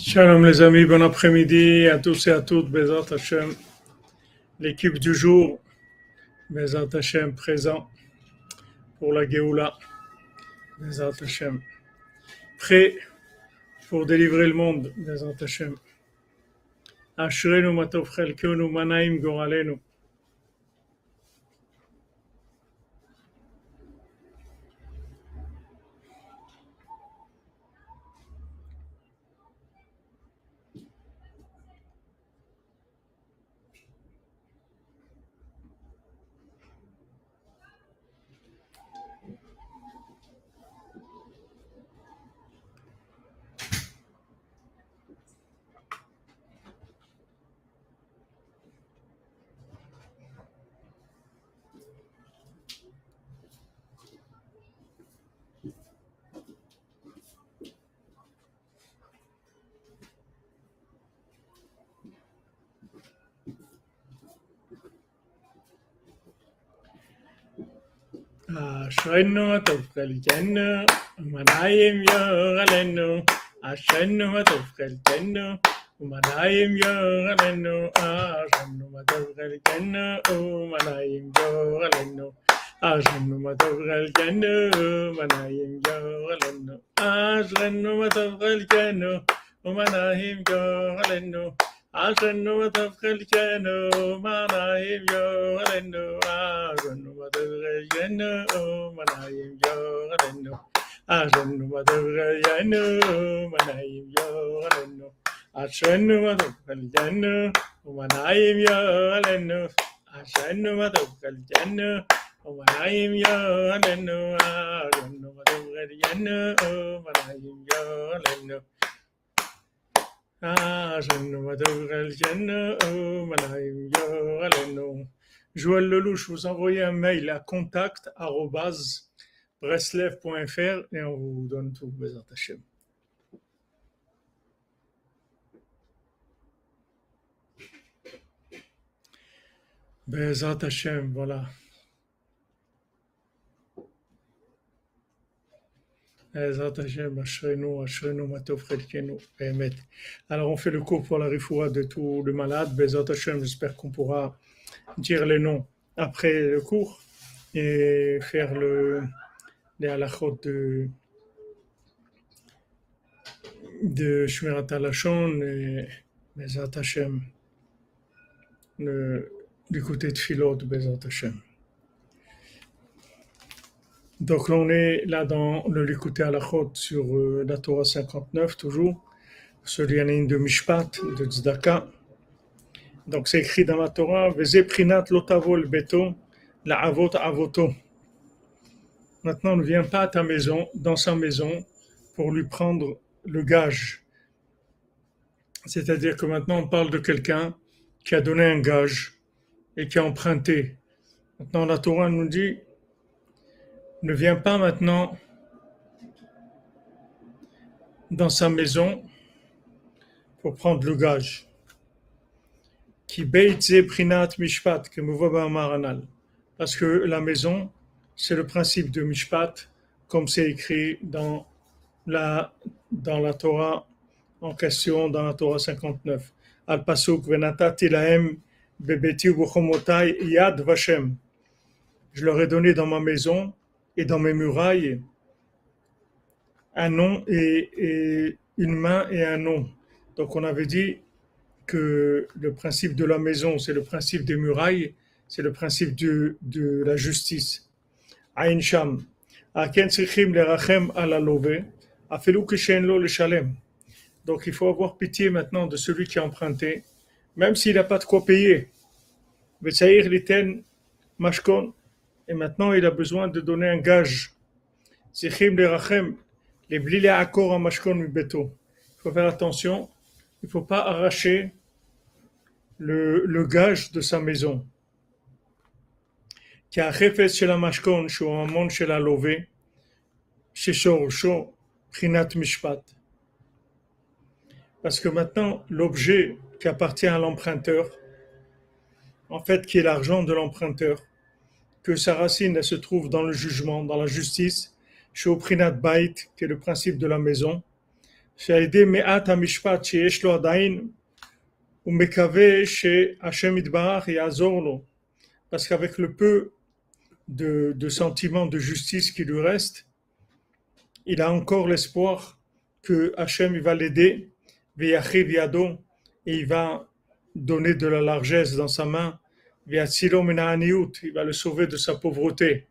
Shalom les amis, bon après-midi à tous et à toutes, Bezat Hashem, l'équipe du jour, Bezat Hashem présent pour la Géoula, Bezat Hashem, prêt pour délivrer le monde, Bezat Hashem. Ashrenu matov chelkenu manaim goralenu. Ashrenu matov chelkenu manaim goralenu. Ashrenu matov chelkenu manaim goralenu. Ashrenu matov chelkenu manaim goralenu. Ashrenu matov chelkenu manaim goralenu. Ashrenu matov chelkenu manaim goralenu. Ashrenu matov chelkenu manaim goralenu. Ashrenu matov chelkenu manaim goralenu. Ashrenu matov chelkenu manaim goralenu. Ashrenu matov chelkenu manaim goralenu. Ashrenu matov chelkenu manaim goralenu. Ashrenu matov chelkenu manaim goralenu. Joël Lelouch, vous envoyez un mail à contact@breslev.fr et on vous donne tout, Bezat Hashem. Bezat Hashem, voilà. Bezat Hashem, Ashrenu matov chelkenu, Bémet. Alors on fait le cours pour la rifoua de tous les malades. Bezat Hashem, j'espère qu'on pourra dire les noms après le cours et faire les halachot de Shmirat HaLashon et Bezat Hashem, du côté de Philot, Bezat Hashem. Donc on est là dans le Likutei Halachot sur la Torah 59 toujours, sur l'Yanin de Mishpat, de Tzedaka. Donc c'est écrit dans la Torah, Veze prinat lotavol beto, la avot avoto. Maintenant ne viens pas à ta maison, dans sa maison, pour lui prendre le gage. C'est-à-dire que maintenant on parle de quelqu'un qui a donné un gage et qui a emprunté. Maintenant la Torah nous dit, ne viens pas maintenant dans sa maison pour prendre le gage. Ki beit ze prinat mishpat, que me voit maranal. Parce que la maison, c'est le principe de mishpat, comme c'est écrit dans la Torah en question, dans la Torah 59. Al pasuk venatati lahem bebeti u'bochomotai yad vashem. Je leur ai donné dans ma maison et dans mes murailles un nom et une main et un nom. Donc on avait dit que le principe de la maison, c'est le principe des murailles, c'est le principe de la justice. Aïn Sham. Aken tzrichim lerachem ala love, afelu kishen lo leshalem. Donc il faut avoir pitié maintenant de celui qui a emprunté, même s'il n'a pas de quoi payer. Vetsaïr liten mashkon. Et maintenant il a besoin de donner un gage. Tzrichim lerachem, les blile akor mashkon mibeto. Il faut faire attention. Il ne faut pas arracher le gage de sa maison. Parce que maintenant, l'objet qui appartient à l'emprunteur, en fait, qui est l'argent de l'emprunteur, que sa racine elle se trouve dans le jugement, dans la justice, chez Oprinat Bait, qui est le principe de la maison, שעל ידי מעט המשפט שיש לו עדיין, הוא מקווה שהשם יתברך יעזור לו. Parce qu'avec le peu de sentiments de justice qui lui reste, il a encore l'espoir que Hachem il va l'aider, Veyachiv Yado, et il va donner de la largesse dans sa main, Veyatzilo min ha'aniyut, il va le sauver de sa pauvreté.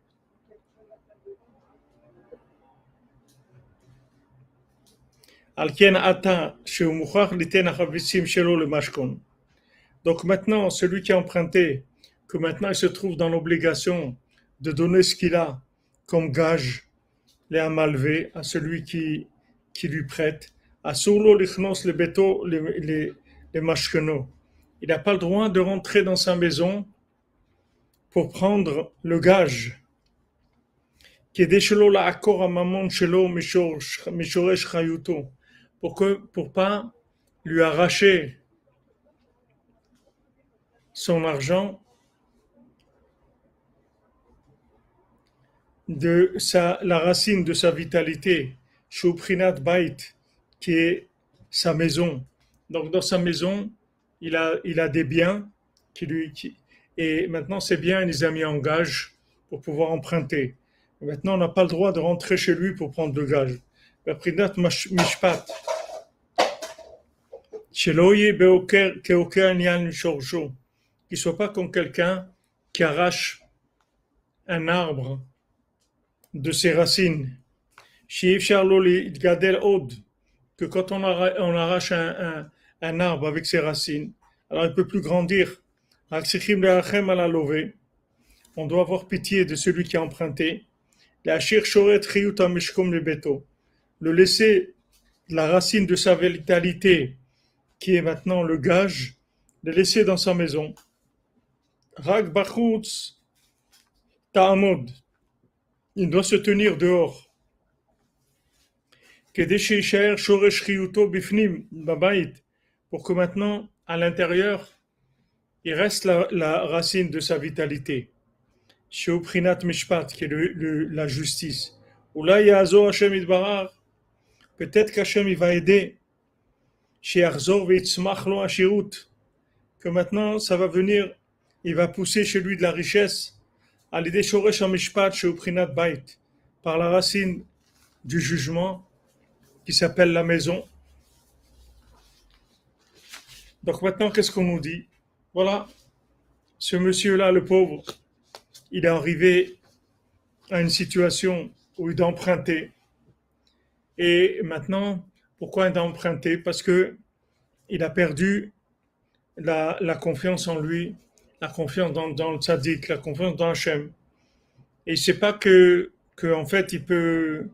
Alken ata shehu muchach liten hachavitzim shelo le mashkon. Donc maintenant, celui qui a emprunté, que maintenant il se trouve dans l'obligation de donner ce qu'il a comme gage, les amalvé, à celui qui lui prête, à Soulo lichnos le beto les mashkeno. Il n'a pas le droit de rentrer dans sa maison pour prendre le gage. Kede shelo la akor mamon shelo mishoresh chayuto. Pour pas lui arracher son argent de la racine de sa vitalité, Shuprinat Bait, qui est sa maison. Donc dans sa maison, il a des biens et maintenant ces biens, il les a mis en gage pour pouvoir emprunter. Et maintenant, on n'a pas le droit de rentrer chez lui pour prendre le gage. Prinat Mishpat, Sheloye Beoker Keoker Nyan Shorjo, qu'il ne soit pas comme quelqu'un qui arrache un arbre de ses racines. Que quand on arrache un arbre avec ses racines, alors il ne peut plus grandir. On doit avoir pitié de celui qui a emprunté. Le laisser la racine de sa vitalité, qui est maintenant le gage, le laisser dans sa maison. Rak bachutz ta'amod. Il doit se tenir dehors. Pour que maintenant, à l'intérieur, il reste la racine de sa vitalité. Sheuprinat mishpat, qui est la justice. Ou là, Yazo Hashem Idbarar, peut-être qu'Hashem il va aider. Shearzor veitzmach lo ashirut, que maintenant, ça va venir, il va pousser chez lui de la richesse. Par la racine du jugement qui s'appelle la maison. Donc maintenant, qu'est-ce qu'on nous dit? Voilà, ce monsieur-là, le pauvre, il est arrivé à une situation où il doit emprunter. Et maintenant, pourquoi il doit emprunter? Parce que il a perdu la confiance en lui, la confiance dans le tzaddik, la confiance dans Hachem. Et il ne sait pas que en fait, il peut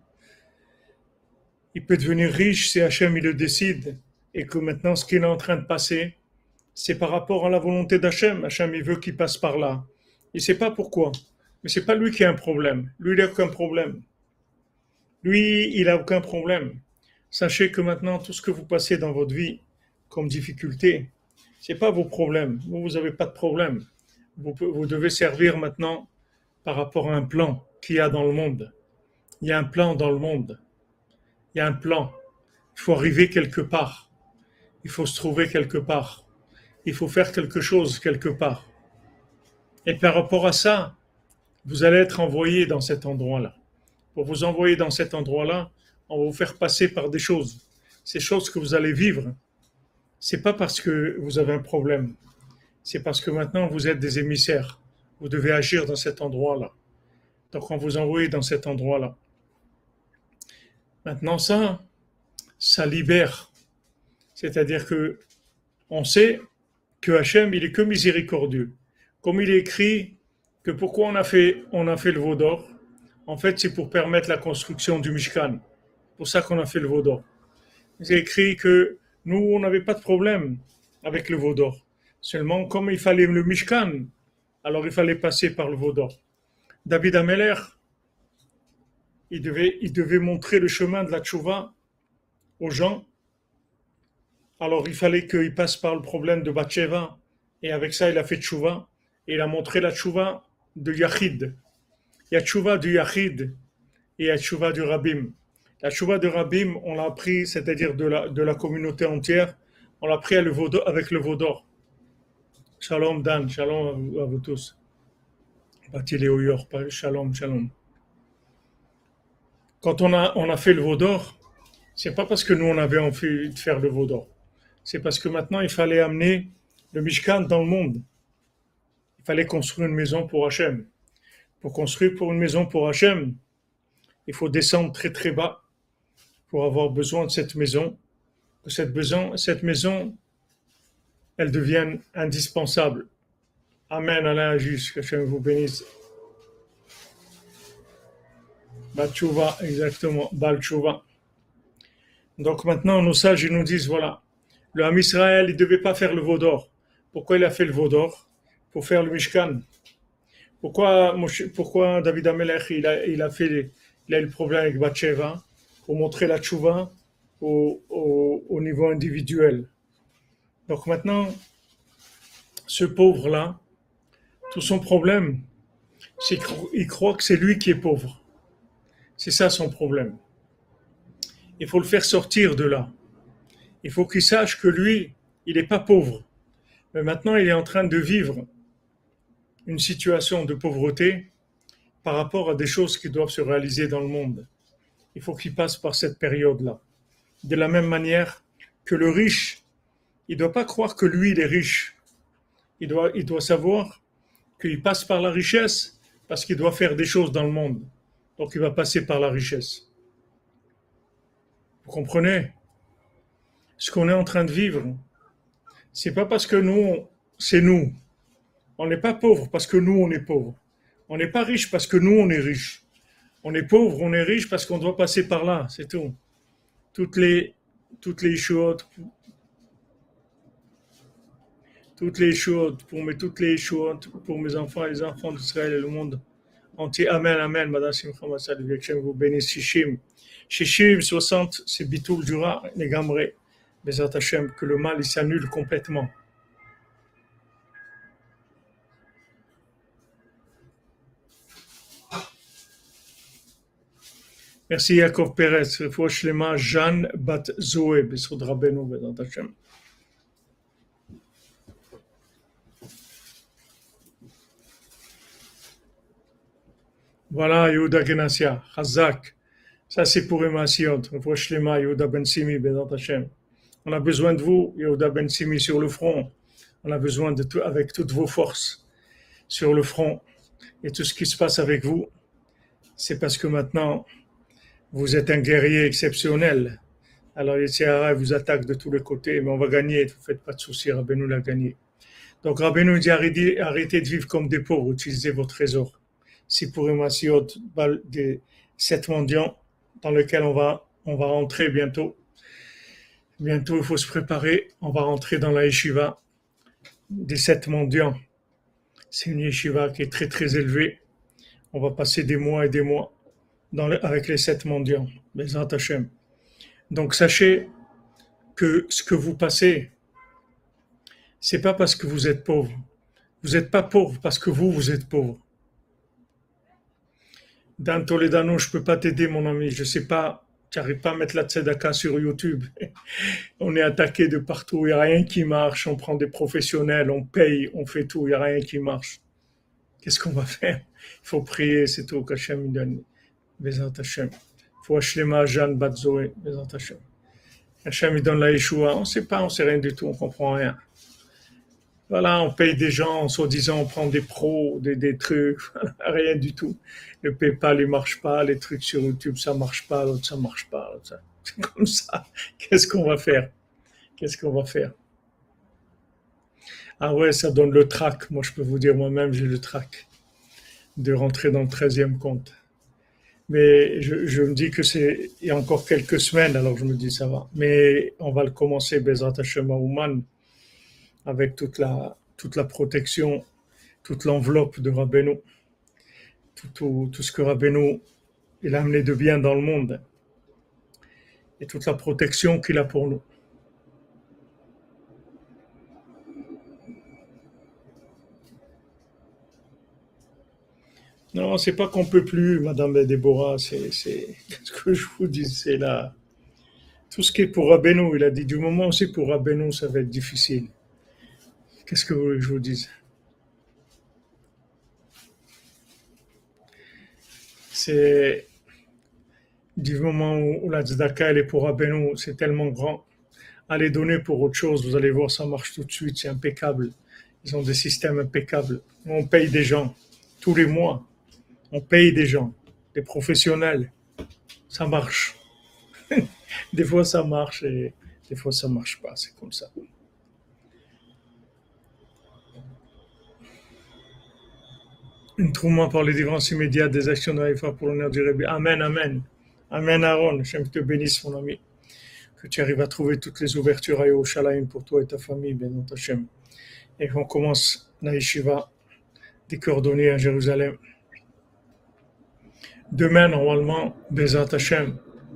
devenir riche si Hachem il le décide. Et que maintenant, ce qu'il est en train de passer, c'est par rapport à la volonté d'Hachem. Hachem, il veut qu'il passe par là. Il ne sait pas pourquoi. Mais ce n'est pas lui qui a un problème. Lui, il n'a aucun problème. Lui, il n'a aucun problème. Sachez que maintenant, tout ce que vous passez dans votre vie comme difficulté, ce n'est pas vos problèmes. Vous n'avez pas de problème. Vous devez servir maintenant par rapport à un plan qu'il y a dans le monde. Il y a un plan dans le monde. Il y a un plan. Il faut arriver quelque part. Il faut se trouver quelque part. Il faut faire quelque chose quelque part. Et par rapport à ça, vous allez être envoyé dans cet endroit-là. Pour vous envoyer dans cet endroit-là, on va vous faire passer par des choses. Ces choses que vous allez vivre, c'est pas parce que vous avez un problème. C'est parce que maintenant vous êtes des émissaires. Vous devez agir dans cet endroit-là. Donc on vous envoie dans cet endroit-là. Maintenant ça libère. C'est-à-dire que on sait que Hachem, il est que miséricordieux. Comme il est écrit que pourquoi on a fait le veau d'or, en fait c'est pour permettre la construction du Mishkan. C'est pour ça qu'on a fait le veau d'or. C'est écrit que nous, on n'avait pas de problème avec le veau d'or. Seulement, comme il fallait le Mishkan, alors il fallait passer par le veau d'or. David Ameler, il devait montrer le chemin de la tchouva aux gens. Alors il fallait qu'il passe par le problème de Bathsheba. Et avec ça, il a fait tchouva. Et il a montré la tchouva de Yachid. Il y a tchouva du Yachid et il y a tchouva du Rabbim. La chouva de Rabbim, on l'a appris, c'est-à-dire de la communauté entière, on l'a pris avec le veau d'or. Shalom Dan, shalom à vous tous. Bati Léoyor, shalom, shalom. Quand on a fait le veau d'or, c'est pas parce que nous on avait envie de faire le veau d'or. C'est parce que maintenant il fallait amener le Mishkan dans le monde. Il fallait construire une maison pour Hachem. Pour construire pour une maison pour Hachem, il faut descendre très très bas pour avoir besoin de cette maison. Que cette maison, elle devienne indispensable. Amen, Alain Juste, que Hachem vous bénisse. Batchouva, exactement, Balchouva. Donc maintenant, nos sages ils nous disent, voilà, le Ham Israël, il ne devait pas faire le veau d'or. Pourquoi il a fait le veau d'or? Pour faire le Mishkan. Pourquoi David Amelech, il a eu le problème avec Bathsheba? Pour montrer la tchouva au niveau individuel. Donc maintenant, ce pauvre-là, tout son problème, c'est qu'il croit que c'est lui qui est pauvre. C'est ça son problème. Il faut le faire sortir de là. Il faut qu'il sache que lui, il n'est pas pauvre. Mais maintenant, il est en train de vivre une situation de pauvreté par rapport à des choses qui doivent se réaliser dans le monde. Il faut qu'il passe par cette période-là. De la même manière que le riche, il ne doit pas croire que lui, il est riche. Il doit savoir qu'il passe par la richesse parce qu'il doit faire des choses dans le monde. Donc il va passer par la richesse. Vous comprenez? Ce qu'on est en train de vivre, c'est pas parce que nous, c'est nous. On n'est pas pauvre parce que nous, on est pauvre. On n'est pas riche parce que nous, on est riche. On est pauvre, on est riche parce qu'on doit passer par là, c'est tout. Toutes les choses, toutes les choses pour mes enfants et les enfants d'Israël et le monde entier. Amen, amen. Madame Simcha Massad, que vous bénisse. Shishim, 60, c'est Bitoul Dura, Negamre. Bezat Hashem, que le mal, il s'annule complètement. Merci Yaakov Perez. Refoua Shlema, Jeanne Bat Zoé, Besod Rabbeinu, Bezat Hashem. Voilà, Yehuda Genassia, Chazak. Ça, c'est pour Emma Sion. Refoua Shlema, Yehuda Ben Simi, Bezat Hashem. On a besoin de vous, Yehuda Ben Simi, sur le front. On a besoin de tout, avec toutes vos forces, sur le front. Et tout ce qui se passe avec vous, c'est parce que maintenant, vous êtes un guerrier exceptionnel. Alors, les Sahara vous attaquent de tous les côtés, mais on va gagner, ne vous faites pas de soucis, Rabbeinu l'a gagné. Donc, Rabbeinu dit arrêtez de vivre comme des pauvres, utilisez vos trésors. C'est pour Emasiot, des 7 mendiants dans lesquels on va rentrer bientôt. Bientôt, il faut se préparer. On va rentrer dans la yeshiva des 7 mendiants. C'est une yeshiva qui est très très élevée. On va passer des mois et des mois avec les 7 mendiants. Bezat Hashem. Donc sachez que ce que vous passez, c'est pas parce que vous êtes pauvre. Vous n'êtes pas pauvre parce que vous êtes pauvre. Dan Toledano, je peux pas t'aider, mon ami. Je sais pas, tu n'arrives pas à mettre la tzedaka sur YouTube. On est attaqué de partout. Il n'y a rien qui marche. On prend des professionnels, on paye, on fait tout. Il n'y a rien qui marche. Qu'est-ce qu'on va faire? Il faut prier, c'est tout. Qu'Hachem il donne. Bezat Hashem. Il faut Ashlema, Jeanne, Bat Zoé. Bezat Hashem. Hachem il donne la Yeshua. On ne sait pas, on ne sait rien du tout, on ne comprend rien. Voilà, on paye des gens, soi-disant, on prend des pros, des trucs, rien du tout. Le PayPal, il marche pas, les trucs sur YouTube, ça marche pas, l'autre, ça marche pas. L'autre, c'est comme ça. Qu'est-ce qu'on va faire? Qu'est-ce qu'on va faire? Ah ouais, ça donne le trac. Moi, je peux vous dire, moi-même, j'ai le trac de rentrer dans le 13e compte. Mais je me dis que il y a encore quelques semaines, alors je me dis ça va. Mais on va le commencer, Bezrat Hashem Ouman, avec toute la protection, toute l'enveloppe de Rabbeinu, tout ce que Rabbeinu il a amené de bien dans le monde, et toute la protection qu'il a pour nous. Non, c'est pas qu'on peut plus, Madame Déborah, qu'est-ce que je vous dis, c'est là. Tout ce qui est pour Rabbeinu, il a dit du moment où c'est pour Rabbeinu, ça va être difficile. Qu'est-ce que vous voulez que je vous dise? C'est du moment où la tzedaka, elle est pour Rabbeinu, c'est tellement grand. Allez donner pour autre chose, vous allez voir, ça marche tout de suite, c'est impeccable. Ils ont des systèmes impeccables. On paye des gens tous les mois. On paye des gens, des professionnels. Ça marche. Des fois, ça marche et des fois, ça marche pas. C'est comme ça. Une Trouma par les différences immédiates des actions de Haïfa pour l'honneur du Rabbi. Amen, amen. Amen, Aaron. J'aime te bénisse, mon ami. Que tu arrives à trouver toutes les ouvertures à Yerushalayim pour toi et ta famille, Bénant Hachem. Et qu'on commence la yeshiva des cordonniers à Jérusalem. Demain, normalement, Bézat Hachem.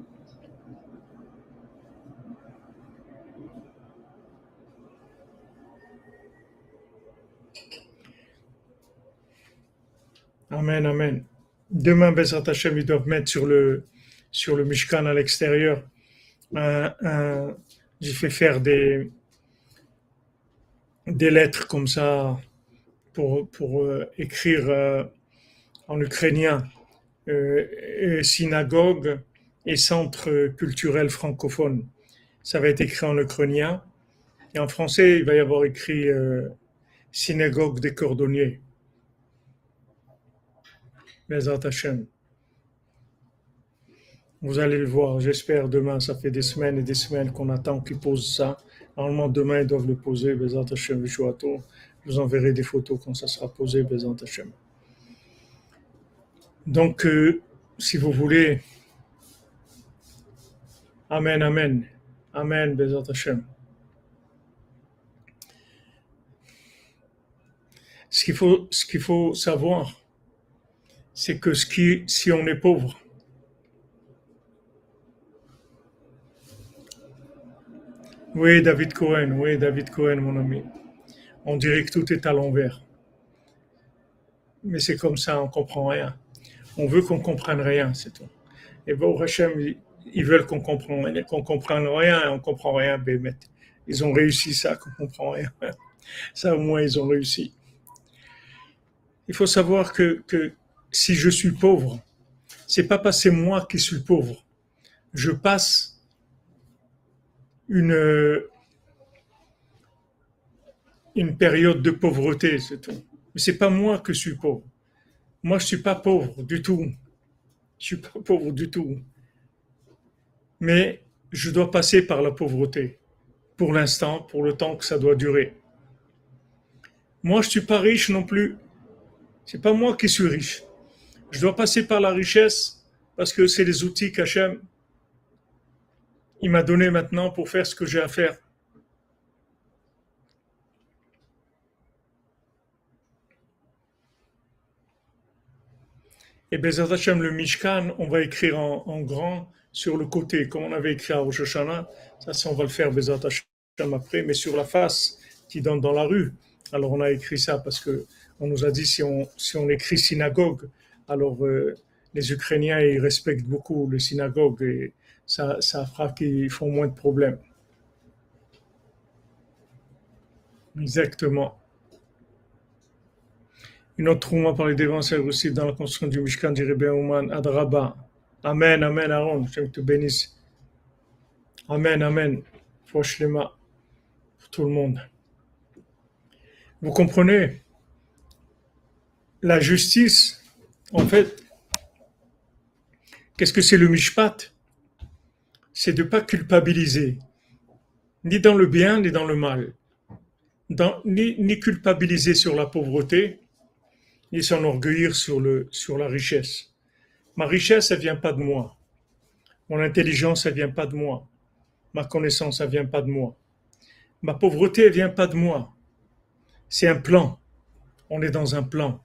Amen, amen. Demain, Bézat Hachem, ils doivent mettre sur le Mishkan à l'extérieur. J'ai fait faire des lettres comme ça pour écrire en ukrainien synagogue et centre culturel francophone. Ça va être écrit en ukrainien. Et en français, il va y avoir écrit synagogue des cordonniers. Bezat Hashem. Vous allez le voir, j'espère demain. Ça fait des semaines et des semaines qu'on attend qu'ils posent ça. Normalement, demain, ils doivent le poser. Bezat Hashem, Vishuato. Je vous enverrai des photos quand ça sera posé. Bezat Hashem. Donc, si vous voulez, Amen, Amen. Amen, Bezat Hashem. Ce qu'il faut savoir, c'est que si on est pauvre, oui, David Cohen, mon ami, on dirait que tout est à l'envers. Mais c'est comme ça, on comprend rien. On veut qu'on comprenne rien, c'est tout. Et bon, Hachem, ils veulent qu'on comprenne rien, et on comprend rien, Bémet. Ils ont réussi ça, qu'on comprend rien. Ça, au moins, ils ont réussi. Il faut savoir que si je suis pauvre, c'est pas parce que c'est moi qui suis pauvre. Je passe une période de pauvreté, c'est tout. Mais c'est pas moi que je suis pauvre. Moi, je suis pas pauvre du tout. Je suis pas pauvre du tout. Mais je dois passer par la pauvreté. Pour l'instant, pour le temps que ça doit durer. Moi, je suis pas riche non plus. C'est pas moi qui suis riche. Je dois passer par la richesse parce que c'est les outils qu'Hachem il m'a donné maintenant pour faire ce que j'ai à faire. Et Bezat Hashem, le Mishkan, on va écrire en grand sur le côté, comme on avait écrit à Rosh Hashanah. Ça, on va le faire Bezat Hashem après, mais sur la face qui donne dans la rue. Alors on a écrit ça parce que on nous a dit si on écrit synagogue, alors les Ukrainiens ils respectent beaucoup les synagogues et ça fera qu'ils font moins de problèmes. Exactement. Une autre trouma par les dévanceurs aussi dans la construction du Mishkan du Rebbe Ouman Adraba. Amen, Amen, Aaron, je te bénisse. Amen, Amen. Foshlema pour tout le monde. Vous comprenez? La justice, en fait, qu'est-ce que c'est le mishpat? C'est de ne pas culpabiliser, ni dans le bien, ni dans le mal. Ni culpabiliser sur la pauvreté, ni s'enorgueillir sur la richesse. Ma richesse, elle ne vient pas de moi. Mon intelligence, elle ne vient pas de moi. Ma connaissance, elle ne vient pas de moi. Ma pauvreté, elle ne vient pas de moi. C'est un plan. On est dans un plan.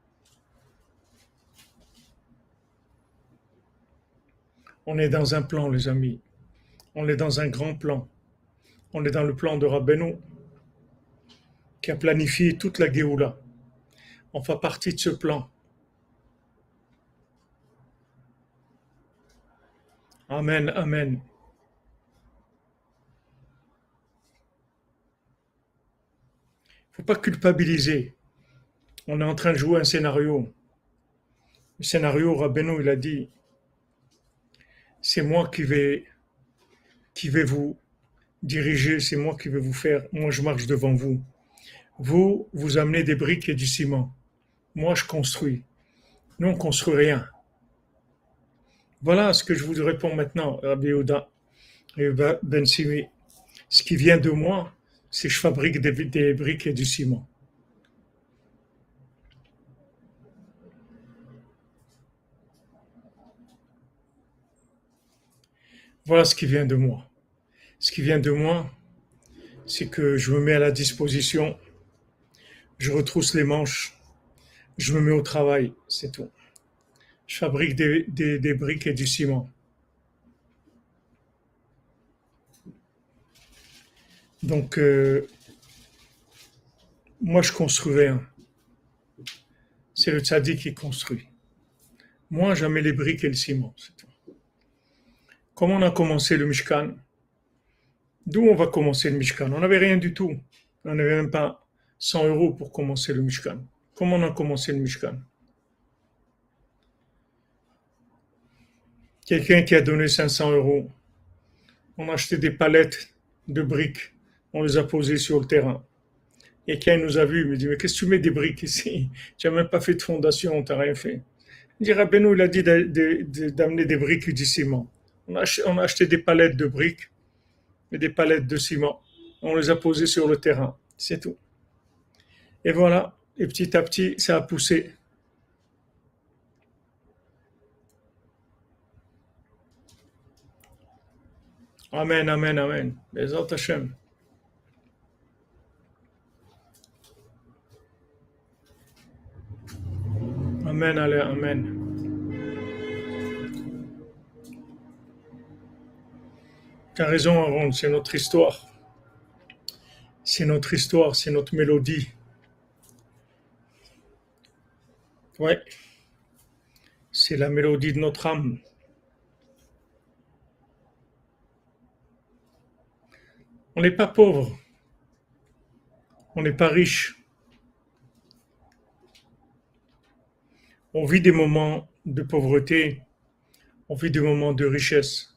On est dans un plan, les amis. On est dans un grand plan. On est dans le plan de Rabbeinu qui a planifié toute la Géoula. On fait partie de ce plan. Amen, amen. Faut pas culpabiliser. On est en train de jouer un scénario. Le scénario, Rabbeinu, il a dit, c'est moi qui vais vous diriger, c'est moi qui vais vous faire. Moi, je marche devant vous. Vous amenez des briques et du ciment. Moi, je construis. Nous, on construit rien. Voilà ce que je vous réponds maintenant, Rabbi Yehuda et Ben Simi. Ce qui vient de moi, c'est que je fabrique des briques et du ciment. Voilà ce qui vient de moi. Ce qui vient de moi, c'est que je me mets à la disposition, je retrousse les manches, je me mets au travail, c'est tout. Je fabrique des briques et du ciment. Donc, moi, je construis rien. C'est le tzaddik qui construit. Moi, je mets les briques et le ciment, c'est tout. Comment on a commencé le Mishkan? D'où on va commencer le Mishkan? On n'avait rien du tout. On n'avait même pas 100 euros pour commencer le Mishkan. Comment on a commencé le Mishkan? Quelqu'un qui a donné 500 euros. On a acheté des palettes de briques. On les a posées sur le terrain. Et quelqu'un nous a vus, il me dit, mais qu'est-ce que tu mets des briques ici? Tu n'as même pas fait de fondation, tu n'as rien fait. Il dit, Rabbeinu, il a dit d'amener des briques et du ciment. On a acheté des palettes de briques et des palettes de ciment. On les a posées sur le terrain. C'est tout. Et voilà. Et petit à petit, ça a poussé. Amen, amen, amen. Bezat Hashem. Amen, allez, amen. Tu as raison, Aaron, c'est notre histoire. C'est notre histoire, c'est notre mélodie. Ouais, c'est la mélodie de notre âme. On n'est pas pauvre, on n'est pas riche. On vit des moments de pauvreté, on vit des moments de richesse.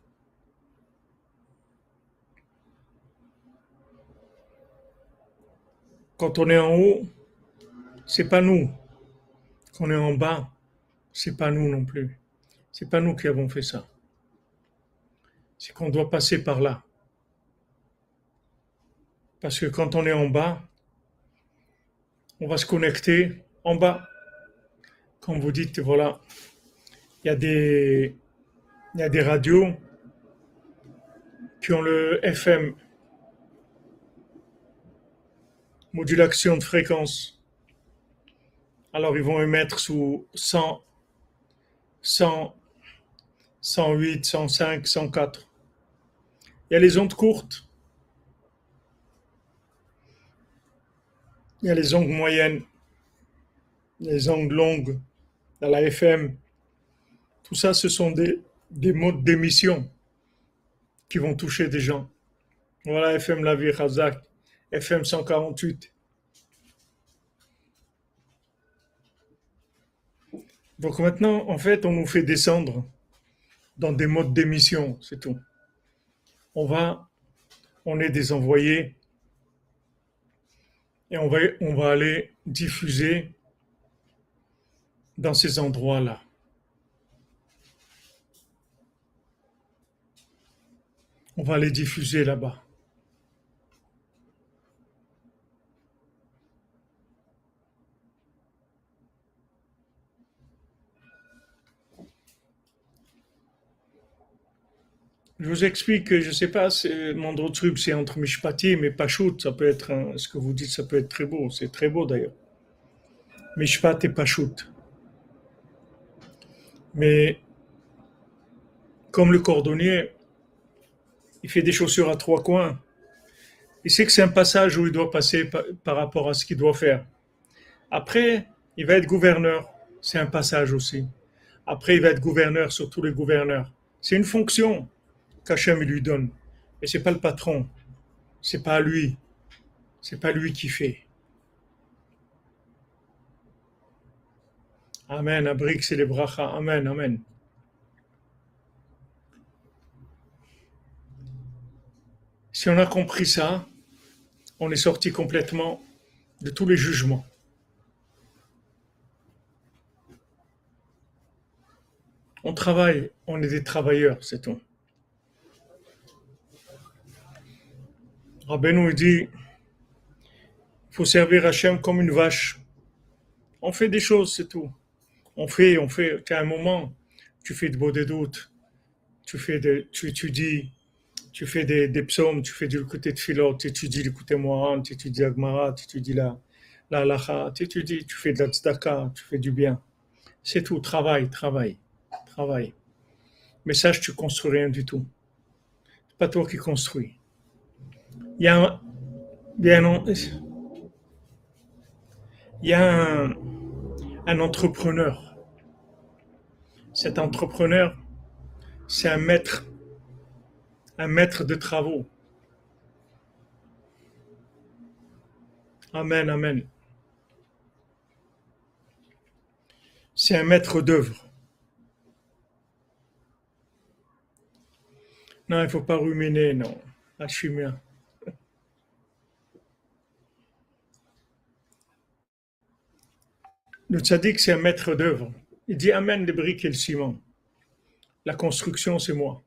Quand on est en haut, c'est pas nous. Quand on est en bas, c'est pas nous non plus. C'est pas nous qui avons fait ça. C'est qu'on doit passer par là. Parce que quand on est en bas, on va se connecter en bas. Quand vous dites, voilà, il y a des, il y a des radios qui ont le FM, modulation de fréquence. Alors ils vont émettre sous 100, 100, 108, 105, 104. Il y a les ondes courtes, il y a les ondes moyennes, les ondes longues, dans la FM. Tout ça, ce sont des modes d'émission qui vont toucher des gens. Voilà FM La Vie Razak, FM 148. Donc maintenant, en fait, on nous fait descendre dans des modes d'émission, c'est tout. On va, on est des envoyés et on va aller diffuser dans ces endroits-là. On va les diffuser là-bas. Je vous explique que je ne sais pas, Mandrotsrub, c'est entre Mishpatim et Pachout, ça peut être, ce que vous dites, ça peut être très beau, c'est très beau d'ailleurs. Mishpat et Pachout. Mais comme le cordonnier, il fait des chaussures à trois coins, il sait que c'est un passage où il doit passer par rapport à ce qu'il doit faire. Après, il va être gouverneur, c'est un passage aussi. Après, il va être gouverneur sur tous les gouverneurs, C'est une fonction qu'Hachem lui donne. Et c'est pas le patron. C'est pas lui. C'est pas lui qui fait. Amen. Abrik, c'est les brachas. Amen. Amen. Si on a compris ça, on est sorti complètement de tous les jugements. On travaille, on est des travailleurs, c'est tout. Rabbeinu dit, il faut servir Hachem comme une vache. On fait des choses, c'est tout. On fait. À un moment, tu fais de beaux des doutes, tu étudies, tu fais des psaumes, tu fais du côté de philo, tu étudies le côté moran, tu étudies Agmara, tu étudies la halacha, tu étudies, tu fais de la tzedaka, tu fais du bien. C'est tout, travail. Mais sache, tu construis rien du tout. C'est pas toi qui construis. Il y a un, il y a un entrepreneur. Cet entrepreneur, c'est un maître de travaux. Amen, amen. C'est un maître d'œuvre. Non, il ne faut pas ruminer, non. La chimie. Le tzaddik, c'est un maître d'œuvre. Il dit amène les briques et le ciment. La construction, c'est moi.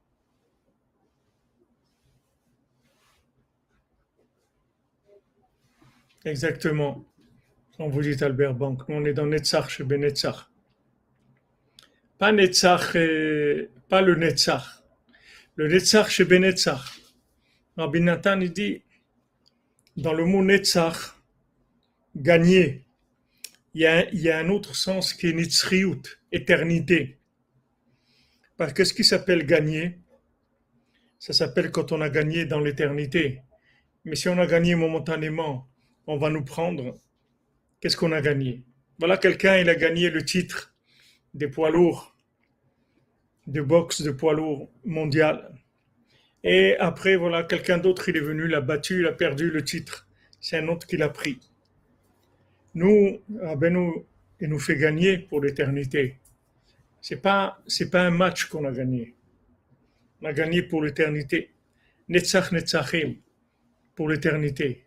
Exactement. Quand vous dites Albert Bank, nous on est dans Netzach chez Benetzach. Pas Netzach, pas le Netzach. Le Netzach chez Benetzach. Rabbi Nathan, il dit, dans le mot Netzach, gagner, il y a un autre sens qui est Nitzriout, éternité. Parce que ce qui s'appelle gagner, ça s'appelle quand on a gagné dans l'éternité. Mais si on a gagné momentanément, on va nous prendre. Qu'est-ce qu'on a gagné? Voilà, quelqu'un, il a gagné le titre des poids lourds, de boxe de poids lourds mondial. Et après, voilà, quelqu'un d'autre, il est venu, l'a battu, il a perdu le titre. C'est un autre qui l'a pris. Nous, il nous fait gagner pour l'éternité. C'est pas un match qu'on a gagné. On a gagné pour l'éternité. Netzach Netzachim, pour l'éternité.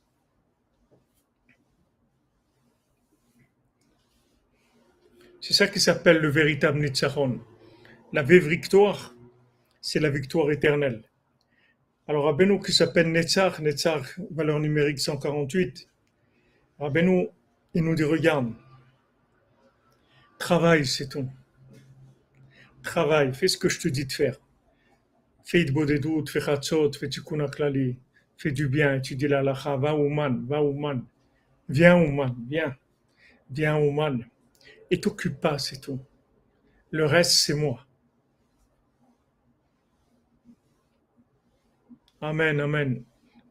C'est ça qui s'appelle le véritable Netzachon. La vraie victoire, c'est la victoire éternelle. Alors, Rabbeinu qui s'appelle Netzach, valeur numérique 148, Rabbeinu, il nous dit, regarde, travaille, c'est tout. Travaille, fais ce que je te dis de faire. Fais Idbo des doutes, fais Chatzot, fais Tikkun HaKlali, fais du bien, étudie la halacha, va Ouman, viens Ouman, viens Ouman. Et t'occupe pas, c'est tout. Le reste, c'est moi. Amen, amen.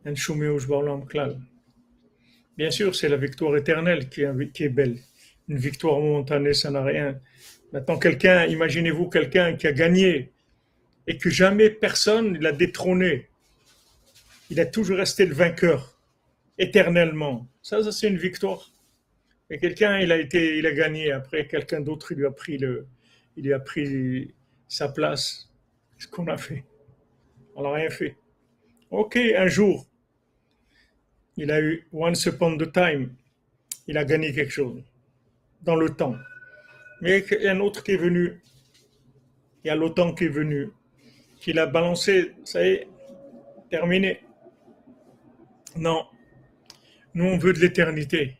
Bien sûr, c'est la victoire éternelle qui est belle. Une victoire momentanée, ça n'a rien. Maintenant, imaginez-vous quelqu'un qui a gagné et que jamais personne ne l'a détrôné. Il a toujours resté le vainqueur, éternellement. Ça c'est une victoire. Et quelqu'un, il a gagné. Après, quelqu'un d'autre, il lui a pris sa place. Ce qu'on a fait. On n'a rien fait. Ok, un jour, il a eu once upon a time. Il a gagné quelque chose dans le temps. Mais il y a un autre qui est venu. Il y a l'OTAN qui est venu, qui l'a balancé. Ça y est, terminé. Non, nous on veut de l'éternité.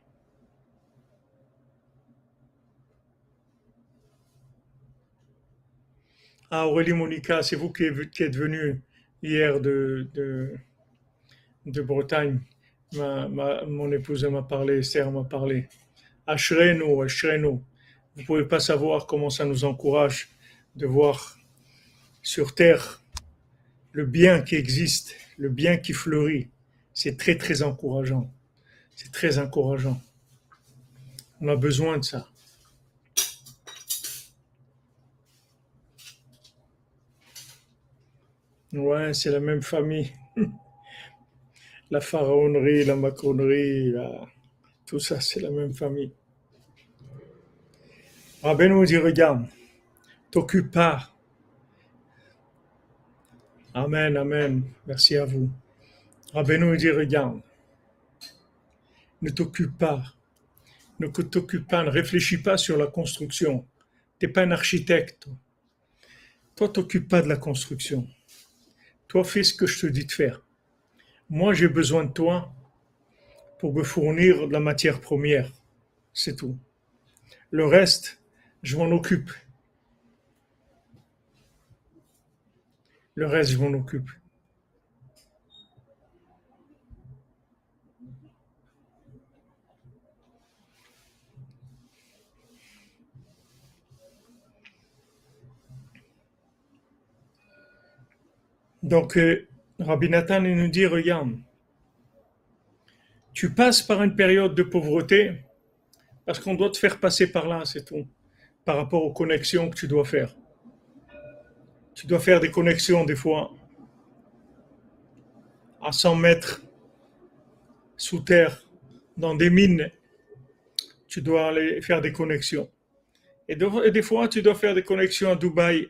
Ah, Aurélie Monica, c'est vous qui êtes venu hier de Bretagne. Mon épouse m'a parlé, Esther m'a parlé. Ashrenu. Vous ne pouvez pas savoir comment ça nous encourage de voir sur terre le bien qui existe, le bien qui fleurit. C'est très très encourageant. C'est très encourageant. On a besoin de ça. Ouais, c'est la même famille. La pharaonerie, la macronerie, tout ça, c'est la même famille. Rabbeinu dit, regarde, t'occupe pas. Amen, amen. Merci à vous. Rabbeinu dit, regarde, ne t'occupe pas. Ne t'occupe pas, ne réfléchis pas sur la construction. T'es pas un architecte. Toi, t'occupe pas de la construction. Toi, fais ce que je te dis de faire. Moi, j'ai besoin de toi pour me fournir de la matière première. C'est tout. Le reste, je m'en occupe. Le reste, je m'en occupe. Donc, Rabbi Nathan il nous dit, regarde, tu passes par une période de pauvreté parce qu'on doit te faire passer par là, c'est tout. Par rapport aux connexions que tu dois faire. Tu dois faire des connexions des fois à 100 mètres sous terre, dans des mines. Tu dois aller faire des connexions. Et des fois, tu dois faire des connexions à Dubaï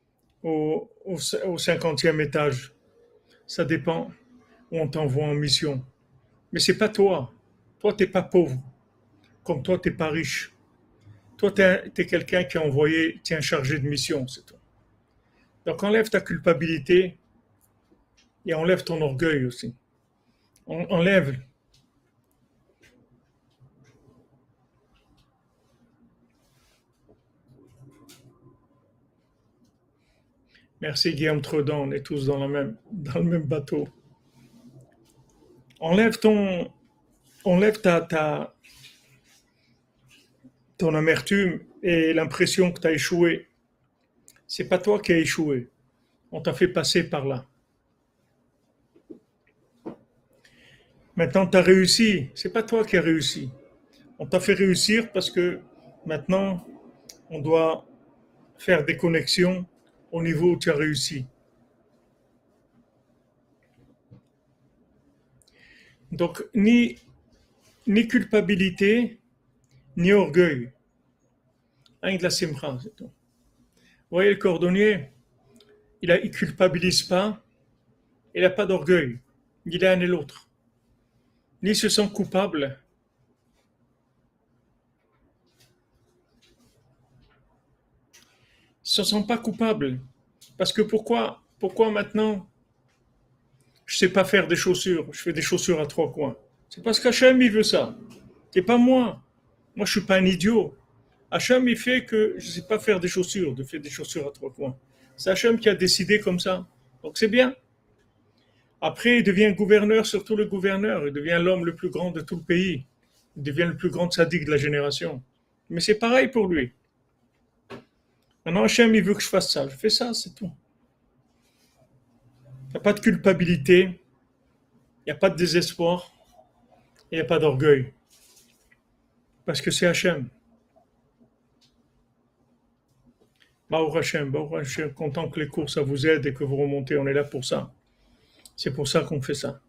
au 50e étage. Ça dépend où on t'envoie en mission. Mais c'est pas toi. Toi, t'es pas pauvre. Comme toi, t'es pas riche. Toi, t'es quelqu'un qui a envoyé, t'es un chargé de mission, c'est tout. Donc enlève ta culpabilité et enlève ton orgueil aussi. Enlève. Merci Guillaume Tredon, on est tous dans le même bateau. Enlève ton, enlève ton amertume et l'impression que tu as échoué. C'est pas toi qui as échoué. On t'a fait passer par là. Maintenant, tu as réussi. C'est pas toi qui as réussi. On t'a fait réussir parce que maintenant, on doit faire des connexions au niveau où tu as réussi. Donc, ni culpabilité, ni orgueil. Avec de la simcha, c'est tout. Vous voyez, le cordonnier, il culpabilise pas, il n'a pas d'orgueil. Ni l'un ni l'autre. Ni se sent coupable. Ils ne se sentent pas coupables. Parce que pourquoi maintenant je ne sais pas faire des chaussures, je fais des chaussures à trois coins. C'est parce qu'Hachem, il veut ça. C'est pas moi. Moi, je suis pas un idiot. Hachem, il fait que je ne sais pas faire des chaussures, de faire des chaussures à trois coins. C'est Hachem qui a décidé comme ça. Donc c'est bien. Après, il devient gouverneur sur tout le gouverneur. Il devient l'homme le plus grand de tout le pays. Il devient le plus grand sadique de la génération. Mais c'est pareil pour lui. Maintenant, Hachem, il veut que je fasse ça. Je fais ça, c'est tout. Il n'y a pas de culpabilité, il n'y a pas de désespoir, il n'y a pas d'orgueil. Parce que c'est Hachem. Baruch Hashem, content que les cours, ça vous aide et que vous remontez, on est là pour ça. C'est pour ça qu'on fait ça.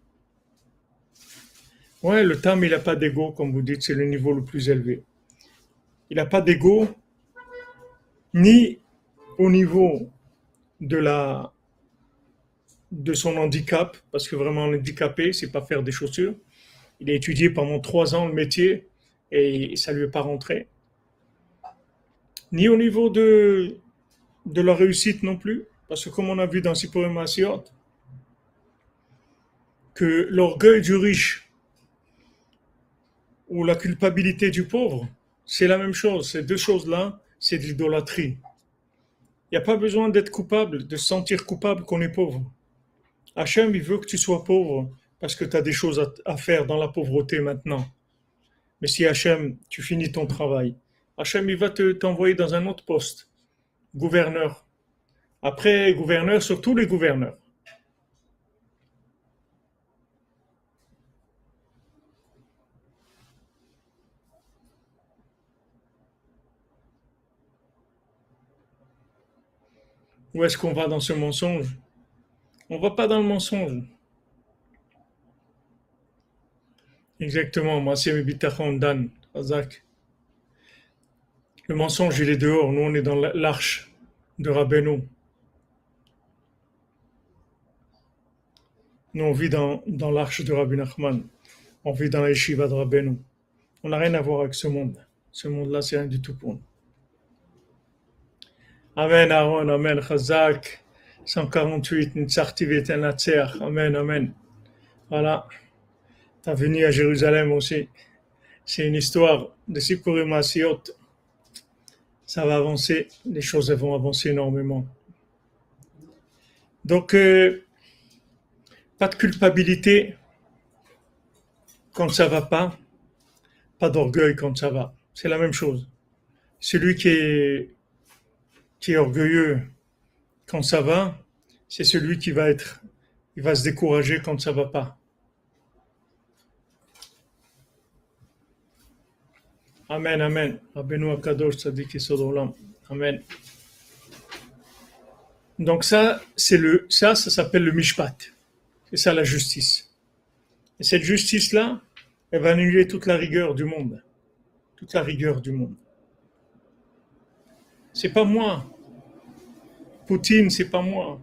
Ouais, le Tam, il n'a pas d'ego, comme vous dites, c'est le niveau le plus élevé. Il n'a pas d'ego, ni au niveau de de son handicap, parce que vraiment handicapé, c'est pas faire des chaussures. Il a étudié pendant 3 ans le métier et ça lui est pas rentré. Ni au niveau de la réussite non plus, parce que comme on a vu dans Sipporim Maasiot, que l'orgueil du riche ou la culpabilité du pauvre, c'est la même chose. Ces deux choses-là, c'est de l'idolâtrie. Il n'y a pas besoin d'être coupable, de se sentir coupable qu'on est pauvre. Hachem, il veut que tu sois pauvre parce que tu as des choses à faire dans la pauvreté maintenant. Mais si Hachem, tu finis ton travail, Hachem, il va t'envoyer dans un autre poste, gouverneur. Après, gouverneur sur tous les gouverneurs. Où est-ce qu'on va dans ce mensonge? On ne va pas dans le mensonge. Exactement, moi c'est Bitachon Dan, Razak. Le mensonge, il est dehors. Nous, on est dans l'arche de Rabbeinu. Nous, on vit dans l'arche de Rabbi Nachman. On vit dans la yeshiva de Rabbeinu. On n'a rien à voir avec ce monde. Ce monde-là, c'est rien du tout pour nous. Amen, Aaron, Amen, Chazak. 148, Nitzarti v'Tenatzer. Amen, Amen. Voilà. Tu as venu à Jérusalem aussi. C'est une histoire de Sikurim Asiot. Ça va avancer. Les choses vont avancer énormément. Donc, pas de culpabilité quand ça va pas d'orgueil quand ça va. C'est la même chose. Celui qui est orgueilleux quand ça va, c'est celui il va se décourager quand ça va pas. Amen, amen. Rabbeinu Akadosh Tzadik Yesod Olam. Amen. Donc ça s'appelle le mishpat. C'est ça la justice. Et cette justice-là, elle va annuler toute la rigueur du monde. Toute la rigueur du monde. C'est pas moi. Poutine, c'est pas moi.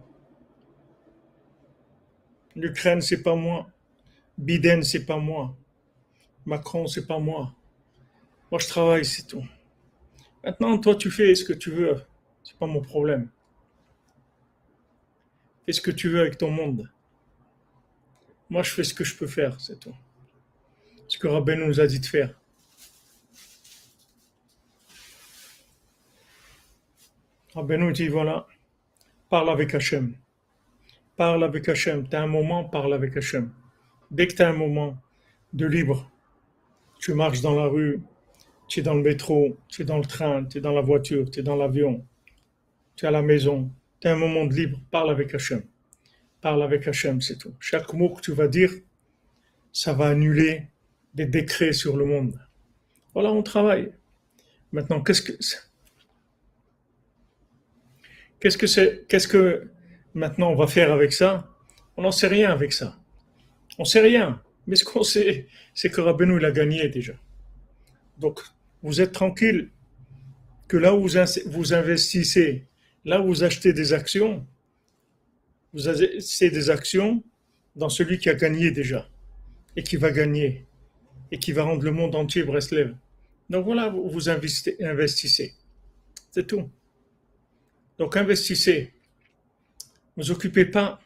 L'Ukraine, c'est pas moi. Biden, c'est pas moi. Macron, c'est pas moi. Moi, je travaille, c'est tout. Maintenant, toi, tu fais ce que tu veux. C'est pas mon problème. Fais ce que tu veux avec ton monde. Moi, je fais ce que je peux faire, c'est tout. Ce que Rabbeinu nous a dit de faire. Rabbeinu dit, voilà, parle avec Hachem. Parle avec Hachem. Tu as un moment, parle avec Hachem. Dès que tu as un moment de libre, tu marches dans la rue, tu es dans le métro, tu es dans le train, tu es dans la voiture, tu es dans l'avion, tu es à la maison, tu as un moment de libre, parle avec Hachem. Parle avec Hachem, c'est tout. Chaque mot que tu vas dire, ça va annuler des décrets sur le monde. Voilà, on travaille. Maintenant, qu'est-ce que maintenant on va faire avec ça? On n'en sait rien avec ça. On sait rien. Mais ce qu'on sait, c'est que Rabbeinu, il a gagné déjà. Donc, vous êtes tranquille que là où vous investissez, là où vous achetez des actions, vous achetez des actions dans celui qui a gagné déjà et qui va gagner et qui va rendre le monde entier Breslev. Donc voilà, vous investissez. C'est tout. Donc investissez. Ne vous occupez pas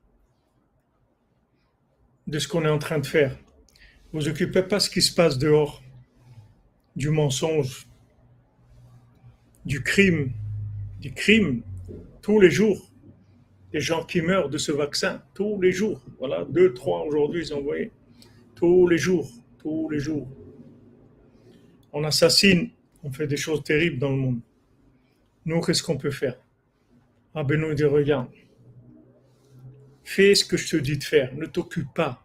de ce qu'on est en train de faire. Ne vous occupez pas de ce qui se passe dehors, du mensonge, du crime, tous les jours. Les gens qui meurent de ce vaccin, tous les jours. Voilà, 2, 3 aujourd'hui, ils ont envoyé. Tous les jours. On assassine, on fait des choses terribles dans le monde. Nous, qu'est-ce qu'on peut faire? Rabbeinu dit, regarde, fais ce que je te dis de faire, ne t'occupe pas.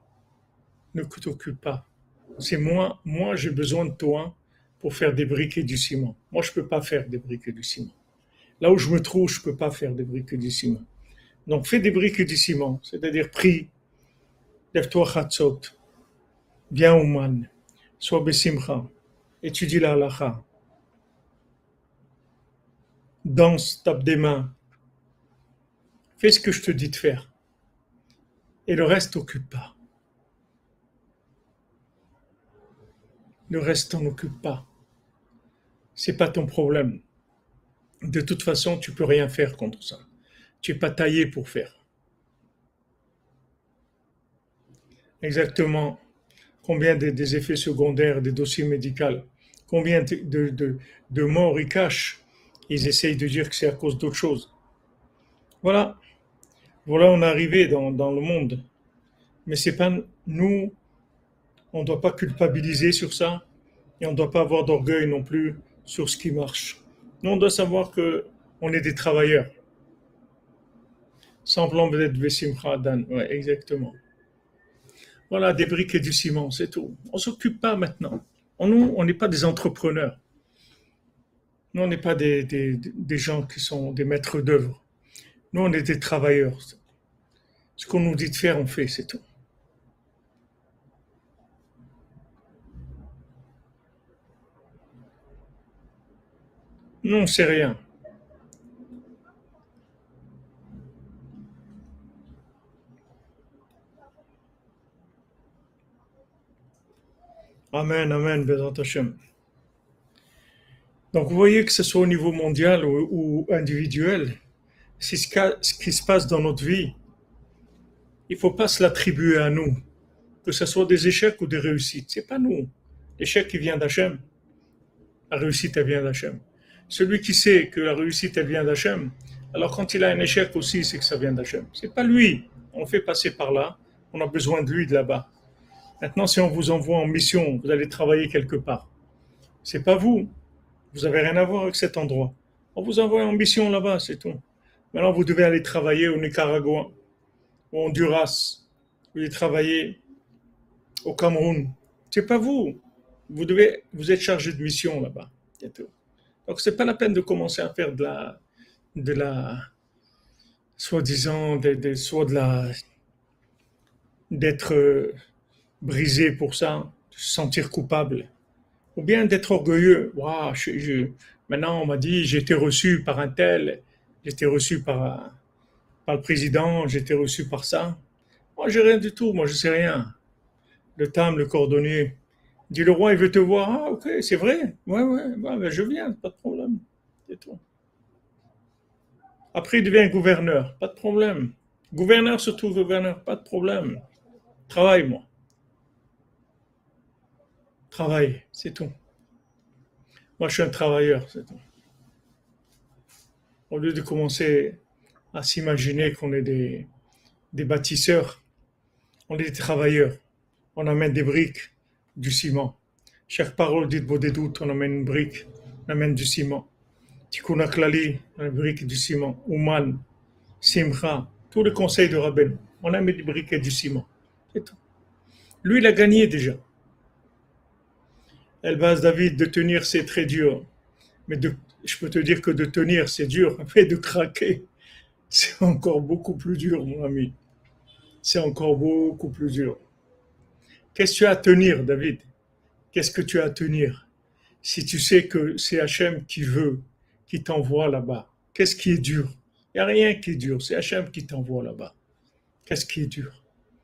C'est moi, j'ai besoin de toi pour faire des briques et du ciment. Moi, je ne peux pas faire des briques et du ciment. Là où je me trouve, je ne peux pas faire des briques et du ciment. Donc, fais des briques et du ciment, c'est-à-dire prie, lève-toi chatzot, viens au man, sois besimcha, étudie la halacha, danse, tape des mains, fais ce que je te dis de faire. Et le reste, t'occupe pas. Le reste, t'en occupe pas. C'est pas ton problème. De toute façon, tu peux rien faire contre ça. Tu n'es pas taillé pour faire. Exactement. Combien des effets secondaires, des dossiers médicaux, combien de morts ils cachent. Ils essayent de dire que c'est à cause d'autre chose. Voilà, on est arrivé dans le monde. Mais c'est pas nous, on ne doit pas culpabiliser sur ça et on ne doit pas avoir d'orgueil non plus sur ce qui marche. Nous, on doit savoir qu'on est des travailleurs. Semblant d'être Vesimcha Dan. Ouais, exactement. Voilà, des briques et du ciment, c'est tout. On ne s'occupe pas maintenant. Nous, on n'est pas des entrepreneurs. Nous, on n'est pas des gens qui sont des maîtres d'œuvre. Nous, on est des travailleurs. Ce qu'on nous dit de faire, on fait, c'est tout. Non, c'est rien. Amen, amen, Bezrat Hashem. Donc vous voyez que ce soit au niveau mondial ou individuel, c'est ce qui se passe dans notre vie. Il ne faut pas se l'attribuer à nous, que ce soit des échecs ou des réussites. C'est pas nous. L'échec, il vient d'Hachem. La réussite, elle vient d'Hachem. Celui qui sait que la réussite, elle vient d'Hachem, alors quand il a un échec aussi, c'est que ça vient d'Hachem. C'est pas lui. On le fait passer par là. On a besoin de lui de là-bas. Maintenant, si on vous envoie en mission, vous allez travailler quelque part. C'est pas vous. Vous avez rien à voir avec cet endroit. On vous envoie en mission là-bas, c'est tout. Maintenant, vous devez aller travailler au Nicaragua, au Honduras. Vous devez travailler au Cameroun. C'est pas vous. Vous êtes chargé de mission là-bas. C'est tout. Donc, c'est pas la peine de commencer à faire de la, soi-disant, soit de la, d'être brisé pour ça, de se sentir coupable. Ou bien d'être orgueilleux. Waouh, maintenant on m'a dit j'ai été reçu par un tel, j'ai été reçu par le président, j'ai été reçu par ça. Moi j'ai rien du tout, moi je sais rien. Le tam, le cordonnier, dit le roi il veut te voir. Ah ok, c'est vrai. Ouais, ouais, ouais, ben, je viens, pas de problème. C'est tout. Après il devient gouverneur, pas de problème. Gouverneur surtout gouverneur, pas de problème. Travaille moi, travaille, c'est tout. Moi je suis un travailleur, c'est tout. Au lieu de commencer à s'imaginer qu'on est des bâtisseurs, on est des travailleurs. On amène des briques, du ciment. Chaque parole dite vaut des doutes, on amène une brique, on amène du ciment. Tikkun Klali, une brique du ciment. Ouman, Simcha, tous les conseils de Rabben, on amène des briques et du ciment. C'est tout. Lui, il a gagné déjà. Elbaz David, de tenir, c'est très dur. Mais je peux te dire que de tenir, c'est dur. Mais de craquer, c'est encore beaucoup plus dur, mon ami. C'est encore beaucoup plus dur. Qu'est-ce que tu as à tenir, David? Qu'est-ce que tu as à tenir? Si tu sais que c'est Hachem qui veut, qui t'envoie là-bas, qu'est-ce qui est dur? Il n'y a rien qui est dur, c'est Hachem qui t'envoie là-bas. Qu'est-ce qui est dur?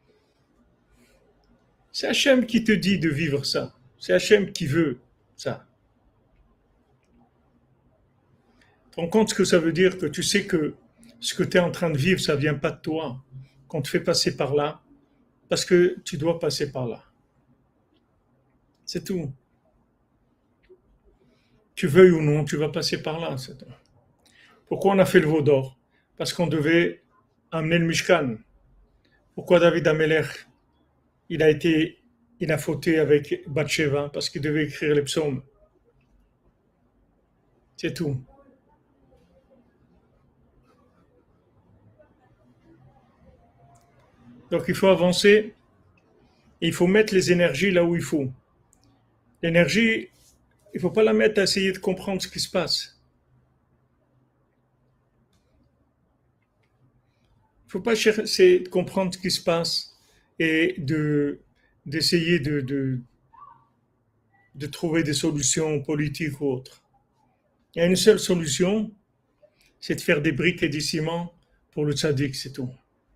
C'est Hachem qui te dit de vivre ça. C'est Hachem qui veut ça. Tu te rends compte ce que ça veut dire que tu sais que ce que tu es en train de vivre, ça ne vient pas de toi. Qu'on te fait passer par là, parce que tu dois passer par là. C'est tout. Tu veuilles ou non, tu vas passer par là. C'est tout. Pourquoi on a fait le veau d'or? Parce qu'on devait amener le Mishkan. Pourquoi David Ameler, il a fauté avec Bathsheba? Parce qu'il devait écrire les psaumes. C'est tout. Donc il faut avancer, et il faut mettre les énergies là où il faut. L'énergie, il ne faut pas la mettre à essayer de comprendre ce qui se passe. Il ne faut pas chercher de comprendre ce qui se passe et d'essayer de trouver des solutions politiques ou autres. Il y a une seule solution, c'est de faire des briques et du ciment pour le tzaddik, c'est tout.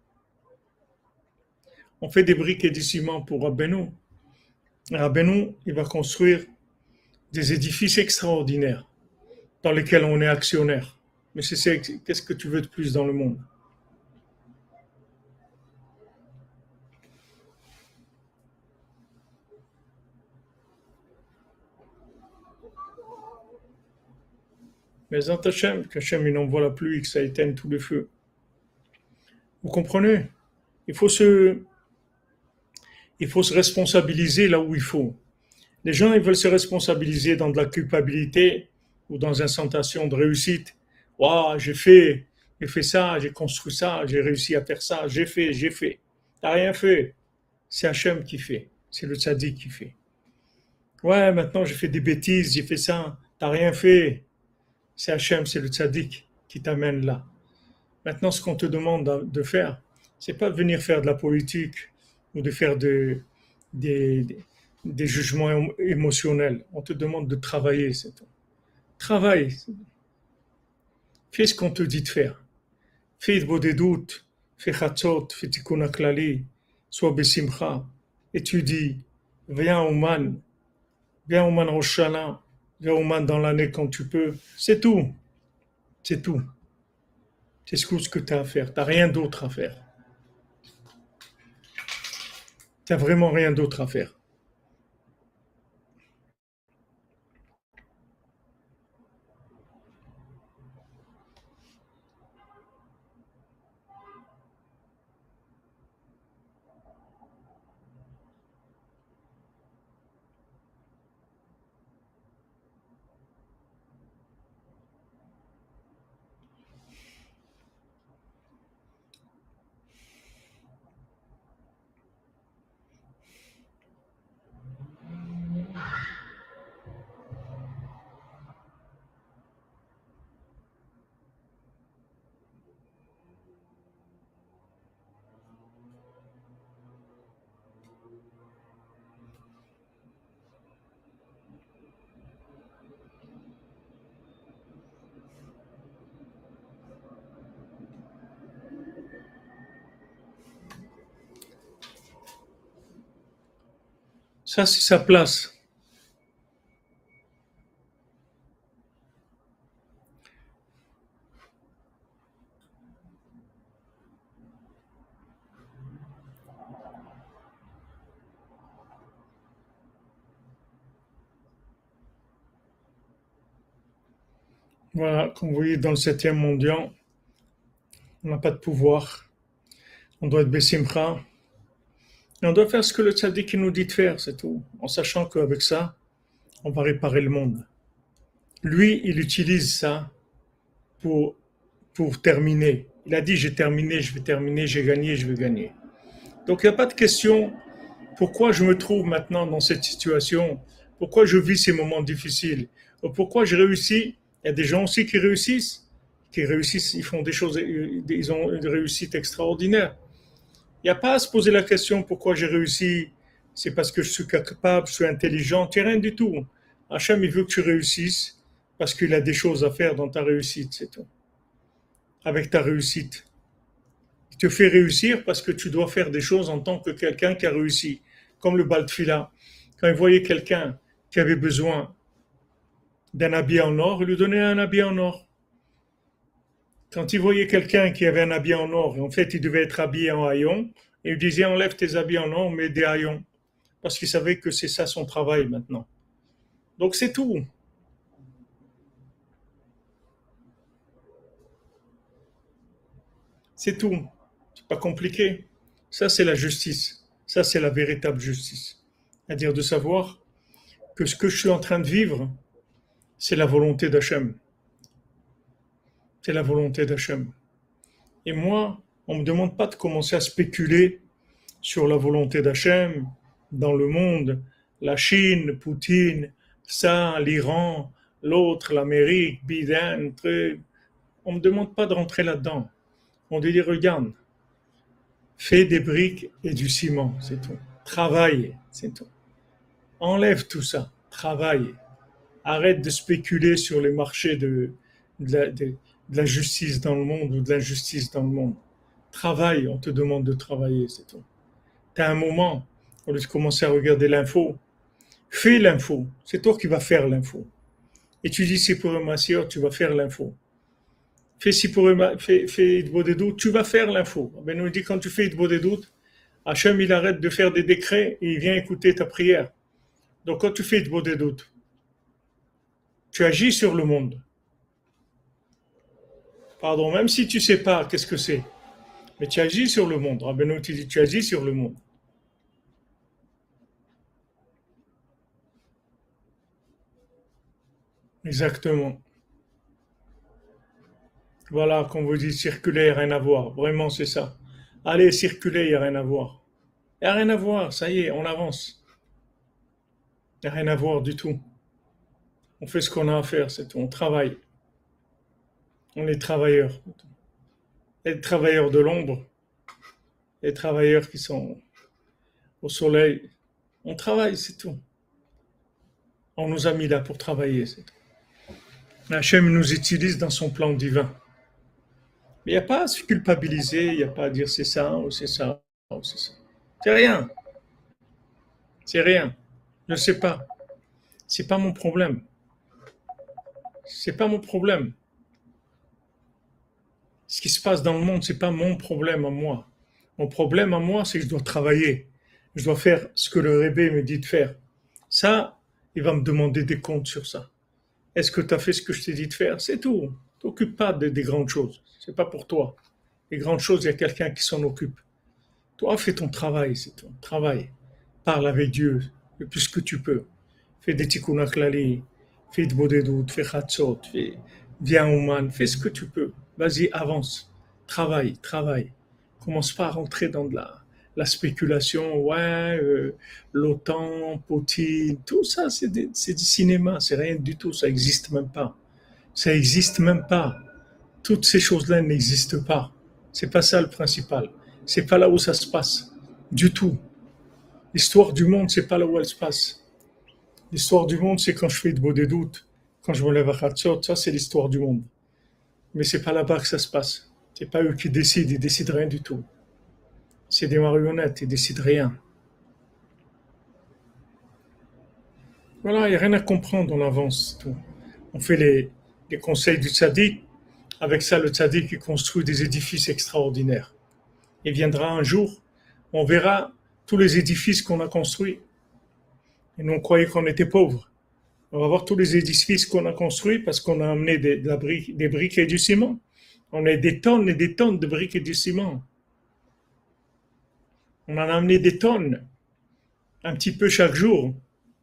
On fait des briques et du ciment pour Rabbeinu. Rabbeinu, il va construire des édifices extraordinaires dans lesquels on est actionnaire. Mais qu'est-ce que tu veux de plus dans le monde? Mais Hachem, qu'Hachem il envoie la pluie, que ça éteigne tous les feux. Vous comprenez? Il faut se, il faut se responsabiliser là où il faut. Les gens, ils veulent se responsabiliser dans de la culpabilité ou dans une sensation de réussite. Waouh, j'ai fait ça, j'ai construit ça, j'ai réussi à faire ça, j'ai fait, j'ai fait. T'as rien fait. C'est Hachem qui fait. C'est le tzaddik qui fait. Ouais, maintenant j'ai fait des bêtises, j'ai fait ça. T'as rien fait. C'est Hachem, c'est le tzaddik qui t'amène là. Maintenant, ce qu'on te demande de faire, C'est pas de venir faire de la politique ou de faire des, des jugements émotionnels. On te demande de travailler, c'est tout. Travaille, fais ce qu'on te dit de faire. Fais התבודדות, fais chatzot, fais tikkun klali, sois besimcha, étudie, viens au Man Rosh Hashanah, viens au Man dans l'année quand tu peux. C'est tout, c'est tout. C'est ce que tu as à faire. Tu n'as rien d'autre à faire. Tu n'as vraiment rien d'autre à faire. Ça, c'est sa place. Voilà, comme vous voyez, dans le 7e mondial, on n'a pas de pouvoir. On doit être Bessimcha. Et on doit faire ce que le tzaddik nous dit de faire, c'est tout. En sachant qu'avec ça, on va réparer le monde. Lui, il utilise ça pour, pour terminer. Il a dit, j'ai terminé, je vais terminer, j'ai gagné, je vais gagner. Donc il n'y a pas de question, pourquoi je me trouve maintenant dans cette situation, pourquoi je vis ces moments difficiles, ou pourquoi je réussis. Il y a des gens aussi qui réussissent, ils font des choses, ils ont une réussite extraordinaire. Il n'y a pas à se poser la question pourquoi j'ai réussi, c'est parce que je suis capable, je suis intelligent, c'est rien du tout. Hachem, il veut que tu réussisses parce qu'il a des choses à faire dans ta réussite, c'est tout. Avec ta réussite. Il te fait réussir parce que tu dois faire des choses en tant que quelqu'un qui a réussi. Comme le Baltfila. Quand il voyait quelqu'un qui avait besoin d'un habit en or, il lui donnait un habit en or. Quand il voyait quelqu'un qui avait un habit en or, et en fait il devait être habillé en haillons, il lui disait enlève tes habits en or, mets des haillons. Parce qu'il savait que c'est ça son travail maintenant. Donc c'est tout. C'est tout. C'est pas compliqué. Ça, c'est la justice. Ça, c'est la véritable justice. C'est-à-dire de savoir que ce que je suis en train de vivre, c'est la volonté d'Hachem. C'est la volonté d'Hachem. Et moi, on ne me demande pas de commencer à spéculer sur la volonté d'Hachem dans le monde, la Chine, Poutine, ça, l'Iran, l'autre, l'Amérique, Biden, truc. On ne me demande pas de rentrer là-dedans. On dit, regarde, fais des briques et du ciment, c'est tout. Travaille, c'est tout. Enlève tout ça, travaille. Arrête de spéculer sur les marchés de la justice dans le monde ou de l'injustice dans le monde. Travaille, on te demande de travailler, c'est tout. Tu as un moment, au lieu de commencer à regarder l'info, fais l'info. C'est toi qui vas faire l'info. Et tu dis, c'est pour ma sœur, tu vas faire l'info. Fais si pour fais des doutes, tu vas faire l'info. Ben nous dit quand tu fais des doutes, Hachem il arrête de faire des décrets et il vient écouter ta prière. Donc quand tu fais des doutes, tu agis sur le monde. Pardon, même si tu sais pas qu'est-ce que c'est, mais tu agis sur le monde. Rabbeinu te dit, tu agis sur le monde. Exactement. Voilà, quand vous dites circuler, il n'y a rien à voir. Vraiment, c'est ça. Allez, circuler, il n'y a rien à voir. Il n'y a rien à voir, ça y est, on avance. Il n'y a rien à voir du tout. On fait ce qu'on a à faire, c'est tout. On travaille. On est travailleurs. Les travailleurs de l'ombre, Les travailleurs qui sont au soleil, on travaille, c'est tout. On nous a mis là pour travailler, c'est tout. Hachem nous utilise dans son plan divin. Mais il n'y a pas à se culpabiliser, il n'y a pas à dire c'est ça ou c'est ça ou c'est ça. C'est rien, c'est rien. Je ne sais pas. C'est pas mon problème. C'est pas mon problème. Ce qui se passe dans le monde, c'est pas mon problème à moi. Mon problème à moi, c'est que je dois travailler. Je dois faire ce que le Rébé me dit de faire. Ça, il va me demander des comptes sur ça. Est-ce que tu as fait ce que je t'ai dit de faire? C'est tout. T'occupe pas des grandes choses. C'est pas pour toi. Les grandes choses, il y a quelqu'un qui s'en occupe. Toi, fais ton travail, c'est ton travail. Parle avec Dieu le plus que tu peux. Fais des tikkun klali, fais de bodedut, fais chatzot, viens au man, fais ce que tu peux. Vas-y, avance. Travaille, travaille. Commence pas à rentrer dans la spéculation. Ouais, l'OTAN, Poutine, tout ça, c'est du cinéma. C'est rien du tout. Ça n'existe même pas. Ça n'existe même pas. Toutes ces choses-là n'existent pas. C'est pas ça le principal. C'est pas là où ça se passe. Du tout. L'histoire du monde, c'est pas là où elle se passe. L'histoire du monde, c'est quand je fais de beaux des doutes, quand je me lève à Khatsot, ça c'est l'histoire du monde. Mais c'est pas là-bas que ça se passe. C'est pas eux qui décident, ils décident rien du tout. C'est des marionnettes, ils décident rien. Voilà, il n'y a rien à comprendre, on avance. Tout. On fait les conseils du tzaddik. Avec ça, le tzaddik, il construit des édifices extraordinaires. Il viendra un jour, on verra tous les édifices qu'on a construits. Et nous, on croyait qu'on était pauvres. On va voir tous les édifices qu'on a construits parce qu'on a amené des briques et du ciment. On a des tonnes et des tonnes de briques et du ciment. On en a amené des tonnes, un petit peu chaque jour.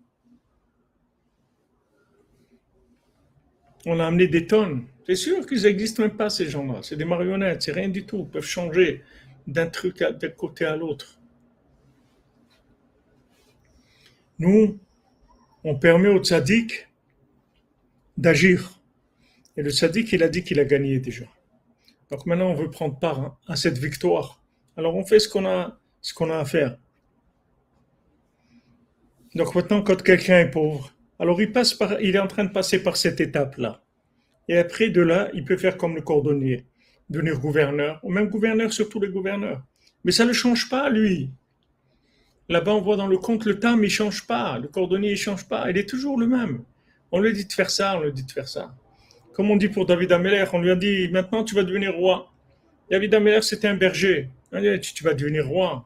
On a amené des tonnes. C'est sûr qu'ils n'existent même pas, ces gens-là. C'est des marionnettes, c'est rien du tout. Ils peuvent changer d'un côté à l'autre. Nous, on permet au tzaddik d'agir. Et le tzaddik, il a dit qu'il a gagné déjà. Donc maintenant, on veut prendre part à cette victoire. Alors on fait ce qu'on a à faire. Donc maintenant, quand quelqu'un est pauvre, alors il est en train de passer par cette étape-là. Et après, de là, il peut faire comme le cordonnier, devenir gouverneur, ou même gouverneur sur tous les gouverneurs. Mais ça ne change pas, lui. Là-bas, on voit dans le compte, le tam, il ne change pas. Le cordonnier, il ne change pas. Il est toujours le même. On lui dit de faire ça, on lui dit de faire ça. Comme on dit pour David Ameller, on lui a dit, maintenant tu vas devenir roi. David Ameller, c'était un berger. On lui a dit, tu vas devenir roi.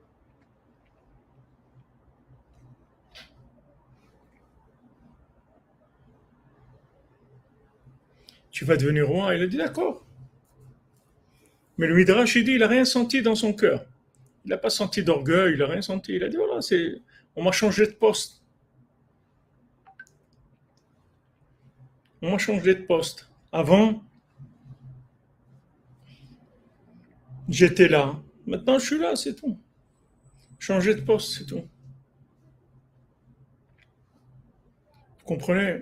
Tu vas devenir roi. Il a dit, d'accord. Mais le Midrash, il dit, il n'a rien senti dans son cœur. Il n'a pas senti d'orgueil, il n'a rien senti. Il a dit, voilà, on m'a changé de poste. On m'a changé de poste. Avant, j'étais là. Maintenant, je suis là, c'est tout. Changer de poste, c'est tout. Vous comprenez?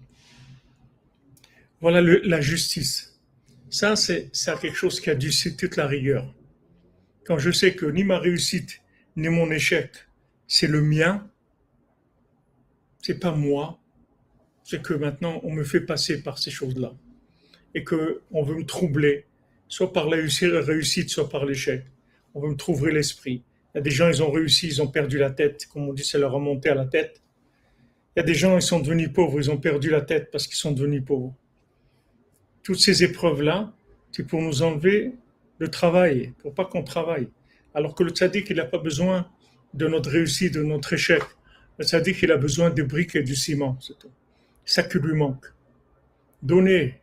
Voilà la justice. Ça, c'est quelque chose qui a dû c'est toute la rigueur. Quand je sais que ni ma réussite, ni mon échec, c'est le mien, c'est pas moi, c'est que maintenant, on me fait passer par ces choses-là. Et qu'on veut me troubler, soit par la réussite, soit par l'échec. On veut me troubler l'esprit. Il y a des gens, ils ont réussi, ils ont perdu la tête. Comme on dit, ça leur a monté à la tête. Il y a des gens, ils sont devenus pauvres, ils ont perdu la tête parce qu'ils sont devenus pauvres. Toutes ces épreuves-là, c'est pour nous enlever le travail, pour pas qu'on travaille. Alors que le tzaddik, il n'a pas besoin de notre réussite, de notre échec. Le tzaddik, il a besoin des briques et du ciment, c'est tout. Ça qui lui manque. Donnez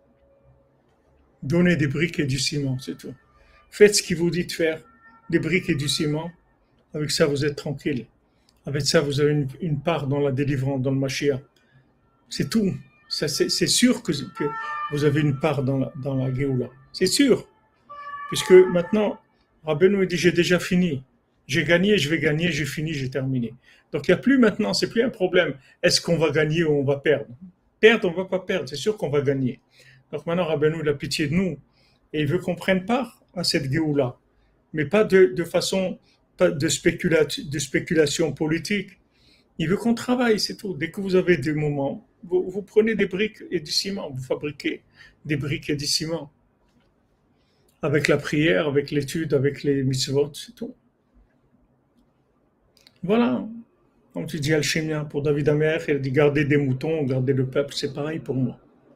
des briques et du ciment, c'est tout. Faites ce qu'il vous dit de faire, des briques et du ciment. Avec ça, vous êtes tranquille. Avec ça, vous avez une part dans la délivrance, dans le Mashiach. C'est tout. C'est sûr que vous avez une part dans la Géoula. C'est sûr. Puisque maintenant, Rabbeinu dit, j'ai déjà fini. J'ai gagné, je vais gagner, j'ai fini, j'ai terminé. Donc il n'y a plus maintenant, c'est plus un problème. Est-ce qu'on va gagner ou on va perdre? Perdre, on ne va pas perdre. C'est sûr qu'on va gagner. Donc maintenant, Rabbeinu, il a pitié de nous. Et il veut qu'on prenne part à cette Géoula. mais pas de façon, pas de spéculation politique. Il veut qu'on travaille, c'est tout. Dès que vous avez des moments, vous prenez des briques et du ciment, vous fabriquez des briques et du ciment. Avec la prière, avec l'étude, avec les mitzvot, c'est tout. Voilà. Comme tu dis Alchimia, pour David Amer, il a dit garder des moutons, garder le peuple, c'est pareil pour moi.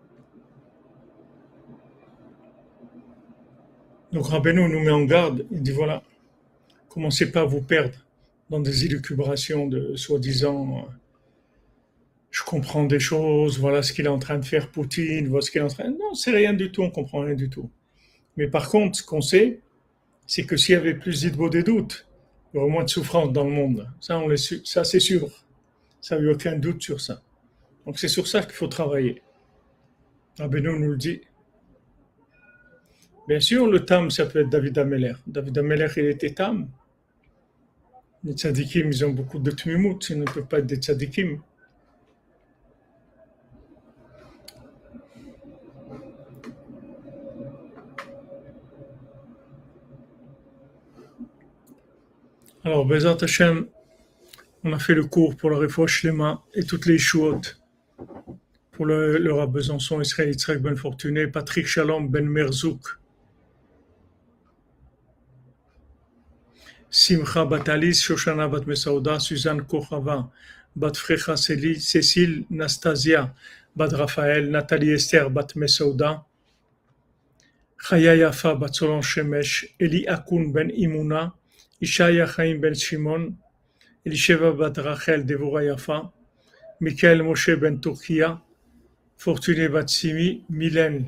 Donc Rabbeinu nous met en garde, il dit voilà, commencez pas à vous perdre dans des élucubrations de soi-disant je comprends des choses, voilà ce qu'il est en train de faire Poutine, voilà ce qu'il est en train. Non, c'est rien du tout, on comprend rien du tout. Mais par contre, ce qu'on sait, c'est que s'il y avait plus d'idbo des doutes, il y aurait moins de souffrance dans le monde. Ça, ça c'est sûr. Ça, il n'y a aucun doute sur ça. Donc c'est sur ça qu'il faut travailler. Rabbeinu nous le dit. Bien sûr, le tam, ça peut être David Ameller. David Ameller, il était tam. Les tzadikim, ils ont beaucoup de tmimout, ils ne peuvent pas être des tzadikim. Alors, Bezat Hashem, on a fait le cours pour le Refoua Shlema et toutes les Shuot. Pour le Rav Besançon, Israël Yitzhak Ben Fortuné, Patrick Shalom Ben Merzouk, Simcha Bat Alice, Shoshana Bat Mesauda, Suzanne Kochava, Bat Frecha Cécile, Nastasia, Bat Raphaël, Nathalie Esther, Bat Mesauda, Chaya Yafa, Bat Solon Shemesh, Eli Akun Ben Imuna, Ishaya Chaim Ben Shimon, Elisheva Bat Rachel, Devora Yafa, Michael Moshe Ben Turkia, Fortuné Bat Simi, Mylène,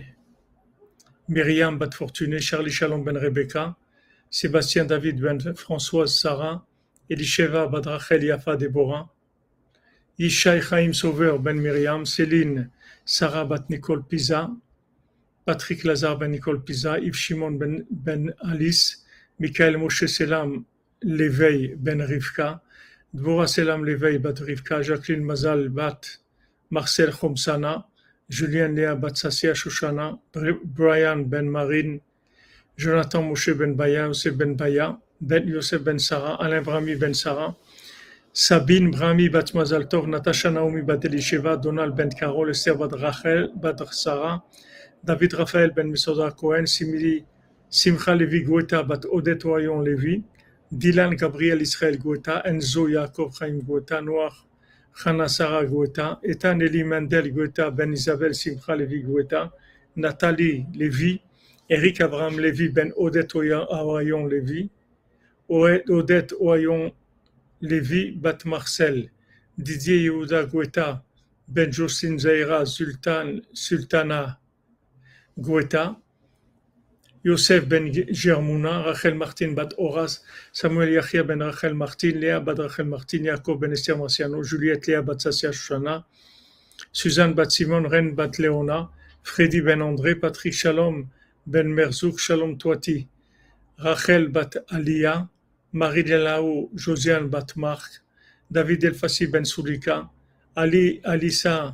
Myriam Bat Fortuné, Charlie Shalom Ben Rebecca, Sébastien David Ben Françoise Sarah, Elisheva Bat Rachel Yafa Deborah, Yishai Chaim Sauveur Ben Myriam, Céline Sarah Bat Nicole Pisa, Patrick Lazare Ben Nicole Pisa, Yves Shimon Ben Alice, Michael Moshe Selam Léveil Ben Rivka, Dvorah Selam Léveil Bat Rivka, Jacqueline Mazal Bat Marcel Khomsana, Julien Léa Bat Sassia Shoshana, Brian Ben Marine, Jonathan Moshe Ben Baya, Yosef Ben Baya, Ben Yosef Ben Sarah, Alain Brahmi Ben Sarah, Sabine Brahmi Bat Mazal Tov, Natasha Naomi Bat Elisheva, Donald Ben Carol, Esther Bat Rachel, Bat Sarah, David Raphaël Ben Mesoda Cohen, Simcha Levi Goueta Bat Odette Oyon Levi, Dylan Gabriel Israël Goueta, Enzo Yaakov Chaim Goueta, Noir Chana Sarah Goueta, Ethan Eli Mendel Goueta, Ben Isabel Simcha Levi Goueta, Nathalie Levi, Eric Abraham Levi Ben Odette Oyon Levi, Odette Oyon Levi Bat Marcel, Didier Yehuda Goueta, Ben Jocelyne Zaira Sultana Goueta, Yosef Ben Germouna, Rachel Martin Bat Horas, Samuel Yachia Ben Rachel Martin, Léa Bat Rachel Martin, Jacob Ben Esther Marciano, Juliette Léa Bat Sassia Shoshana, Suzanne Bat Simon, Ren Bat Léona, Freddy Ben André, Patrick Shalom Ben Merzouk, Shalom Toati, Rachel Bat Alia, Marie Delaou, Josiane Bat Marc, David Elfassi Ben Soulika, Alicia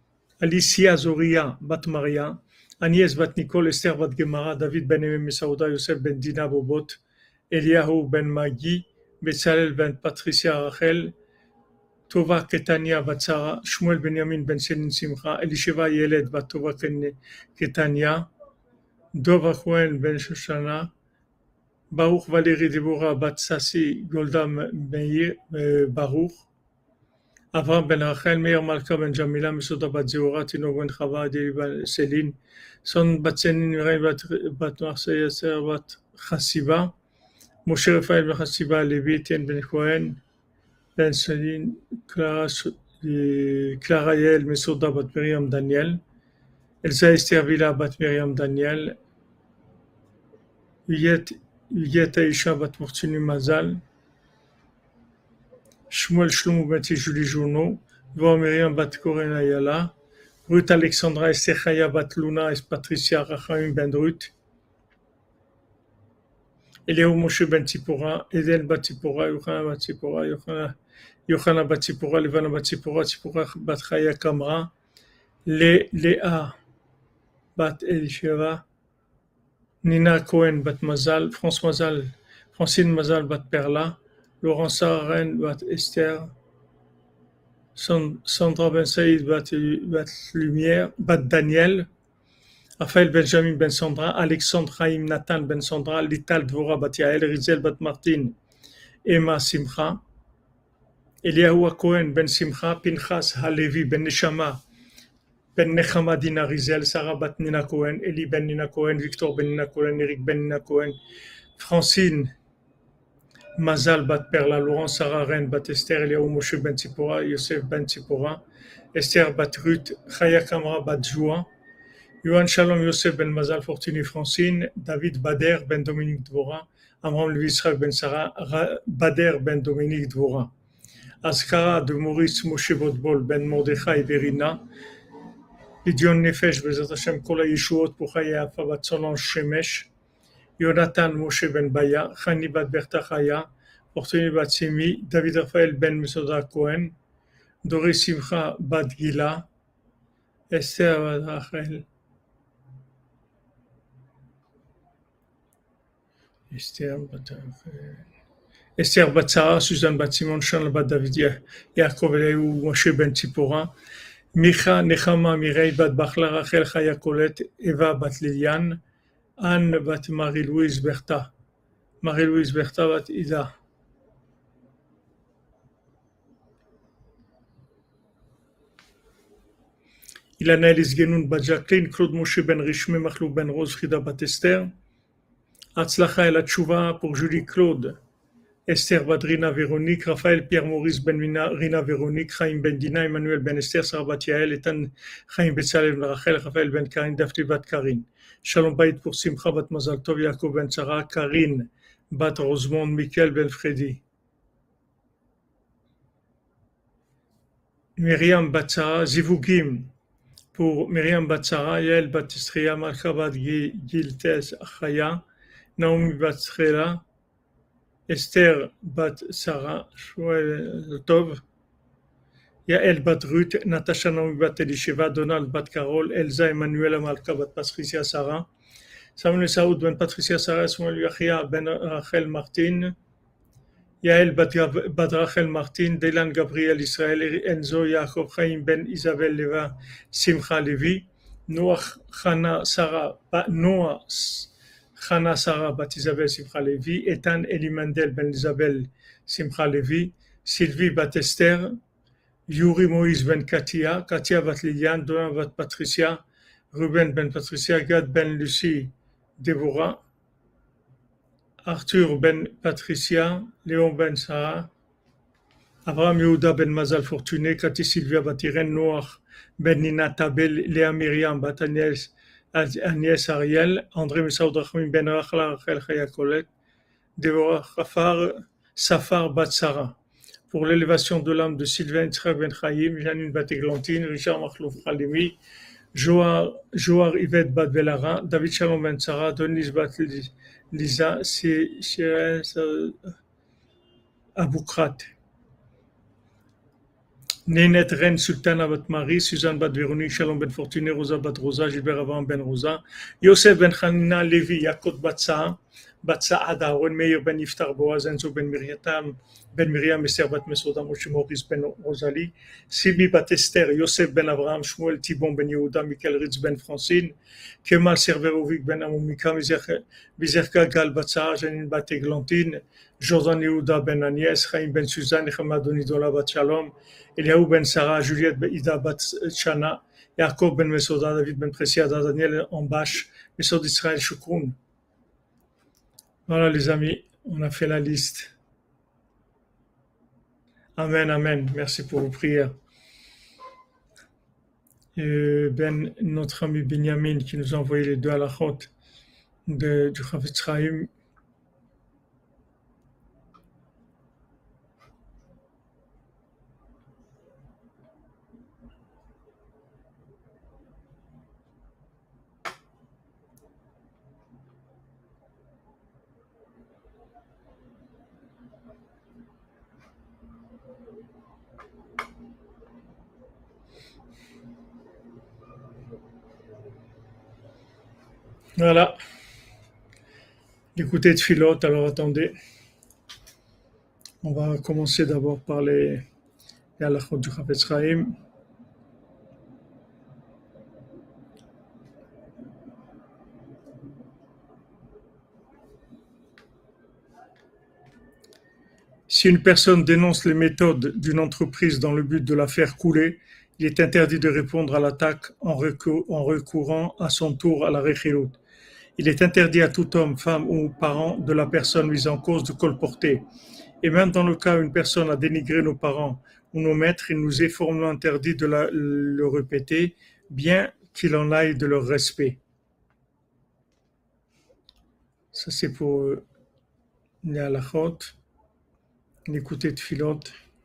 Zoria Bat Maria, Agnès Bat Nicole, Esther Bat Gemara, David Ben Emem Saouda, Yosef Ben Dina Bobot, Eliyahu Ben Magi, Betzalel Ben Patricia Rachel, Tova Ketania Bat Sarah, Shmuel Benjamin Ben Selin Simcha, Elisheva Yeled Bat Tova Ketania, Dova Cohen Ben Shoshana, Baruch Valérie Deborah Bat Sassi, Golda Meir Baruch, Avram Ben Rachel, Meir Malka Ben Jamila, Mesoda Bat Zeora, Tino Ben Chava, Adeli Ben Céline, Son Bat Senin, Mireille Bat Marseille, Esther Bat Chassiba, Moshe Raphaël Ben Chassiba, Lévi, Etienne Ben Cohen, Ben Céline, Clara Yael, Mesoda Bat Miriam Daniel, Elsa Esther Villa Bat Miriam Daniel, Yet Aisha Bat Mortinu Mazal, Shmuel Shlomo Ben Julie Journeau, Dvorah Miriam Bat Koren Ayala, Ruth Alexandra Esther Chaya Bat Luna et Patricia Rachaim Ben Ruth, Eliyahu Moshe Ben Tzipora, Eden Bat Tzipora, Yochana Bat Tzipora, Yochana Bat Tzipora, Levana Bat Tzipora, Tzipora Bat Chaya Kamra, Léa Bat Elisheva, Nina Cohen Bat Mazal, Francine Mazal bat Perla, Laurent Sarren bat Esther, Sandra Ben Saïd bat Lumière, bat Daniel, Raphaël Benjamin Ben Sandra, Alexandre Chaim Nathan Ben Sandra, Lital Dvora bat Yael, Rizel bat Martine, Emma Simcha, Eliyahu Cohen Ben Simcha, Pinchas Halevi Ben Neshama, Ben Nechama Dina Rizel, Sarah bat Nina Cohen, Eli Ben Nina Cohen, Victor Ben Nina Cohen, Eric Ben Nina Cohen, Francine Mazal bat Perla, Laurent Sarah Ren bat Esther, Eliyahu Moshe Ben Tzipora, Yosef Ben Tzipora, Esther bat Ruth, Chaya Kamra bat Joua, Yohan Shalom Yosef Ben Mazal Fortuny Francine, David Bader Ben Dominique Dvora, Amram Levi Yitzhak Ben Sarah, Bader Ben Dominique Dvora, Azkara de Maurice Moshe Botbol Ben Mordechai Verina, Lidion Nefesh Bezat Hashem Kol HaYeshuot pour Chaya Afa bat Solange Shemesh, Yonatan Moshe Ben Baya, Chani bat Berta Chaya, Fortuny bat Simi, David Raphaël Ben Mesoda Cohen, Doris Simcha bat Gila, Esther bat Rachel, Esther bat Sarah, Suzanne bat Simon, Shana bat David Yaakov Eliyahu Moshe Ben Tzipora, Micha Nechama Mireille bat Bachla Rachel Chaya Colette, Eva bat Liliane, Anne bat Marie-Louise Bertha, Marie-Louise Bertha bat Ida. Ilana Elis Genoun bat Jacqueline, Claude Moshe Ben Rishme, Machlou Ben Rose, Frida bat Esther, Hatzlacha El Hatshuva pour Julie Claude, Esther bat Rina Véronique, Raphaël Pierre-Maurice Ben Rina Véronique, Chaim Ben Dina, Emmanuel Ben Esther, Sarah bat Yael, Etan Chaim Betzalel Ben Rachel, Raphaël Ben Karine, Daphne bat Karine, Shalom Bayit pour Simcha bat Mazal Tov, Yaakov Ben Sarah, Karine bat Rosemond, Michael Ben Freddy, Myriam bat Sarah, Zivugim pour Myriam bat Sarah, Yael bat Istria, Malcha bat Giltes Achaya, Naomi bat Srela, Esther bat Sarah, Shmuel Tov, Yael bat Ruth, Natasha Naomi bat Elisheva, Donald bat Carol, Elsa Emmanuel Malka bat Patricia Sarah, Samuel Saoud ben Patricia Sarah, Samuel Yachia ben Rachel Martin, Yael bat Rachel Martin, Delan Gabriel Israël, Enzo Yaakov Chaim ben Isabel Leva, Simcha Levi, Noach Chana Sarah bat Isabel Simcha Levi, Etan Elimandel ben Isabel Simcha Levi, Sylvie bat Esther, Yuri Moïse ben Katia, Katia bat Liliane, Dona bat Patricia, Ruben ben Patricia, Gad ben Lucie, Deborah, Arthur ben Patricia, Léon ben Sarah, Abraham Yehuda ben Mazal Fortuné, Cathy Sylvia bat Irène, Noach ben Nina Tabel, Léa Myriam bat Agnès Ariel, André Messaoud Rachmim ben Rachla Rachel Chaya Colette, Deborah Safar bat Sarah. Pour l'élévation de l'âme de Sylvain Yitzhak ben Chaim, Janine bat Églantine, Richard Machlouf Halimi, Joar Yvette bat Belara, David Shalom ben Sarah, Denise bat Lisa, Shirez Aboukrat, Nénet Ren Sultana bat Marie, Suzanne bat Véronique, Shalom ben Fortuné, Rosa bat Rosa, Gilbert Abraham ben Rosa, Yosef ben Hanina, Lévi, Yakot bat Saad, Aaron Meir ben Yiftar, Boaz, Enzo ben Miriam, Esther bat Mesoda, Moshe Maurice ben Rosalie, Sibi bat Esther, Yosef ben Abraham, Shmuel Thibon ben Yehuda, Michael Ritz ben Francine, Kemal Serverovic ben Amomika, Vizerka Gal bat Sarah, Janine bat Églantine, Jordan Yehuda ben Agnès, Chaim ben Suzanne, Echemad Onidola bat Shalom, Eliaou ben Sarah, Juliette ben Ida bat Shana, Yaakov ben Mesoda, David ben Presiada, Daniel Ambash, Mesod Israël Shukroun. Voilà les amis, on a fait la liste. Amen, amen. Merci pour vos prières. Notre ami Benjamin qui nous a envoyé les deux halachot du Chavetz Chaim. Voilà. d'écouter Tfilot. Alors attendez, on va commencer d'abord par les halachot du Chafetz Chaim. Si une personne dénonce les méthodes d'une entreprise dans le but de la faire couler, il est interdit de répondre à l'attaque en recourant à son tour à la rechilut. Il est interdit à tout homme, femme ou parent de la personne mise en cause de colporter. Et même dans le cas où une personne a dénigré nos parents ou nos maîtres, il nous est formellement interdit de le répéter, bien qu'il en aille de leur respect. Ça c'est pour les halachot. L'écouter de Tfilot.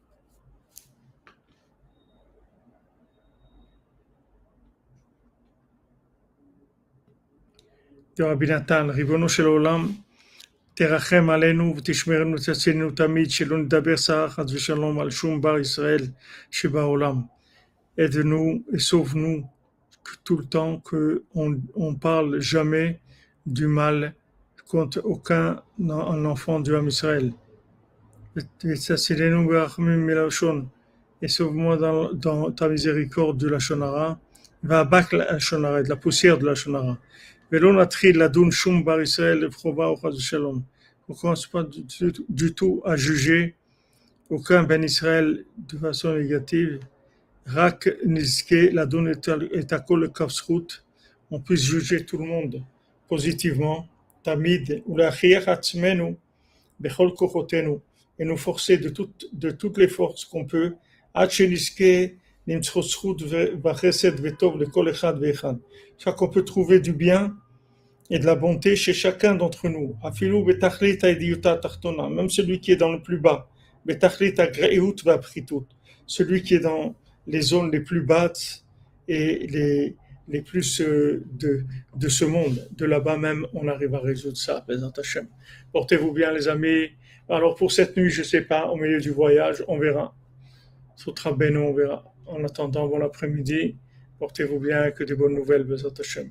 de Rabbi Natan, ריבונו של עולם, תרחם עלינו ותשמרנו ותצילנו תמיד, שלא נדבר סרה חס ושלום על שום בר ישראל שבעולם. Aide-nous et sauve-nous tout le temps qu'on parle jamais du mal contre aucun enfant du Ham Israël. ותצילנו ברחמים מלשון, et sauve-moi dans ta miséricorde de la Shonara, והבק לשונרה, de la poussière de la Shonara. ולא נתחיל לדון שום בר ישראל לבחובה או חס ושלום. On ne commence pas du tout à juger aucun Ben Israël de façon négative. רק נזכה לדון את הכל לכף זכות. On puisse juger tout le monde positivement, תמיד, ולהכריח עצמנו בכל כוחותינו, et nous forcer de toutes les forces qu'on peut, עד שנזכה למצוא זכות וחסד וטוב לכל אחד ואחד. Chaque qu'on peut trouver du bien et de la bonté chez chacun d'entre nous. Afilou betachlit ha'idiuta tachtona, même celui qui est dans le plus bas. Betachlit ha'greut va'pritout, celui qui est dans les zones les plus basses et les plus de ce monde. De là-bas même, on arrive à résoudre ça. Bézat Hashem. Portez-vous bien, les amis. Alors pour cette nuit, je ne sais pas, au milieu du voyage, on verra. Sotra Beno, on verra. En attendant, bon après-midi. Portez-vous bien, que de bonnes nouvelles. Bézat Hashem.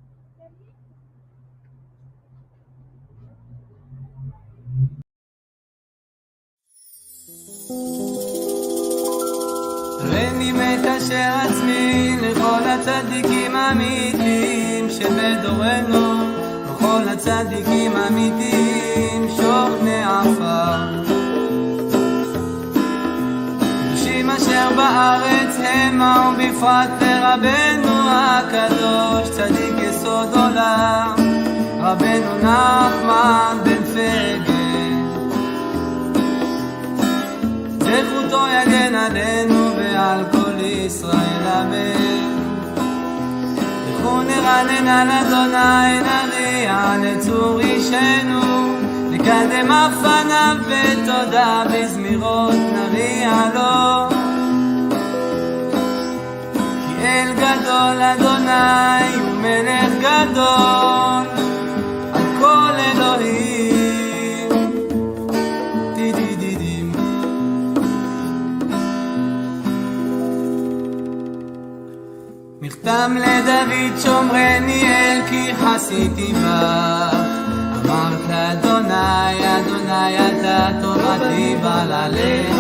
רני מת אשר עצמי לכל הצדיקים האמיתיים שבדורנו, וכל הצדיקים האמיתיים שוכני עפר. קדושים אשר בארץ המה, ובפרט לרבנו הקדוש צדיק יסוד עולם, רבנו נחמן בן פגל. זכותו יגן עלינו ועל כל ישראל אמן. לכו נרנן על אדוני, נריע לצור אישנו, נקדם אף פניו בתודה, בזמירות נריע לו. כי אל גדול אדוני הוא מלך גדול על כל אלוהים. מכתם לדוד שומרני אל כי חסיתי בך. אמרת לאדוני, אדוני אתה תורתי בעלליך.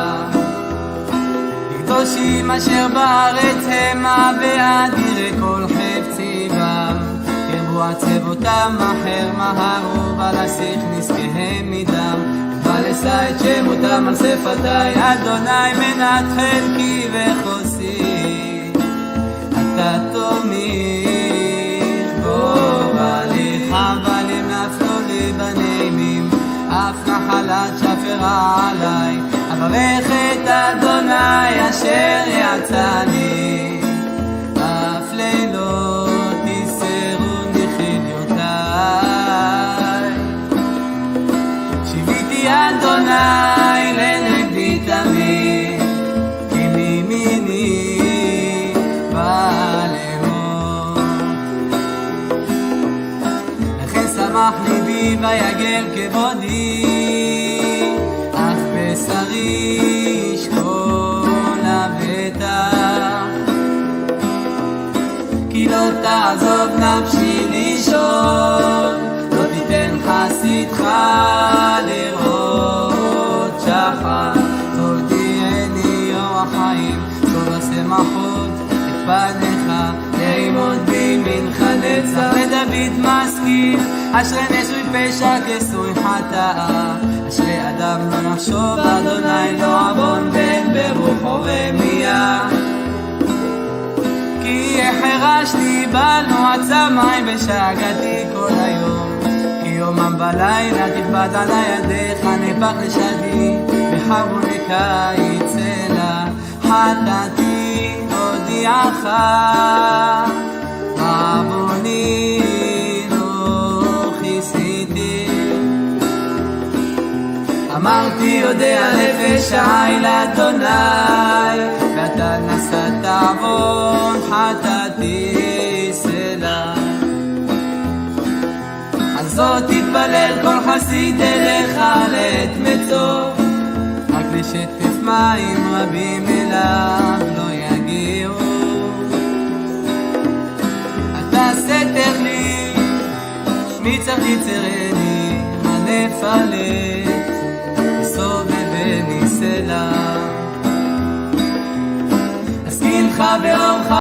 לקדושים אשר בארץ המה, ואדירי כל חפצי בם. קרבו עצבותם אחר מהרו, ולשיח נזקיהם מדם. ולשא את שמותם על שפתי, אדוני מנת חלקי וחוסי. אתה תומיך גורלי, חבלים נפלו לי בנעימים, אף נחלת שפרה עליי. אברך את אדוני אשר יצאני, אף לילות יסרוני חיליותיי. שיביתי אדוני לנגדי תמיד, כי מימיני לכן שמח ליבי ויגל כבודי, אף בשרי ישכון לבטח. כי לא תעזוב נפשי לישון, לא תיתן חסי איתך לראות שחר, תודיעני אור החיים, טוב השמחות את פניך, לימוד בימינך נצח. לדוד משכיל, אשרי נשוי פשע כסוי חטאה, אשרי אדם לא נחשוב אדוני לא עוון בן ברוחו רמיה. כי החרשתי בל מועצה מים ושאגתי כל היום, כי יומם בלילה תכבד עלי ידיך, נפח לשדי בחרוני קיץ אלה. חטאתי הודיעך, עווני לא כיסיתי. אמרתי יודע נפש חי לאדוני, ואתה נשאת עוון חטאתי סלה. על זאת תתפלל כל חסיד אליך לעת מצוא, רק לשטף מים רבים אליו לא יגיעו. אתה סתר לי שמי צריך יצרני, הנפלת סובבני סלע. אזכיר לך באורך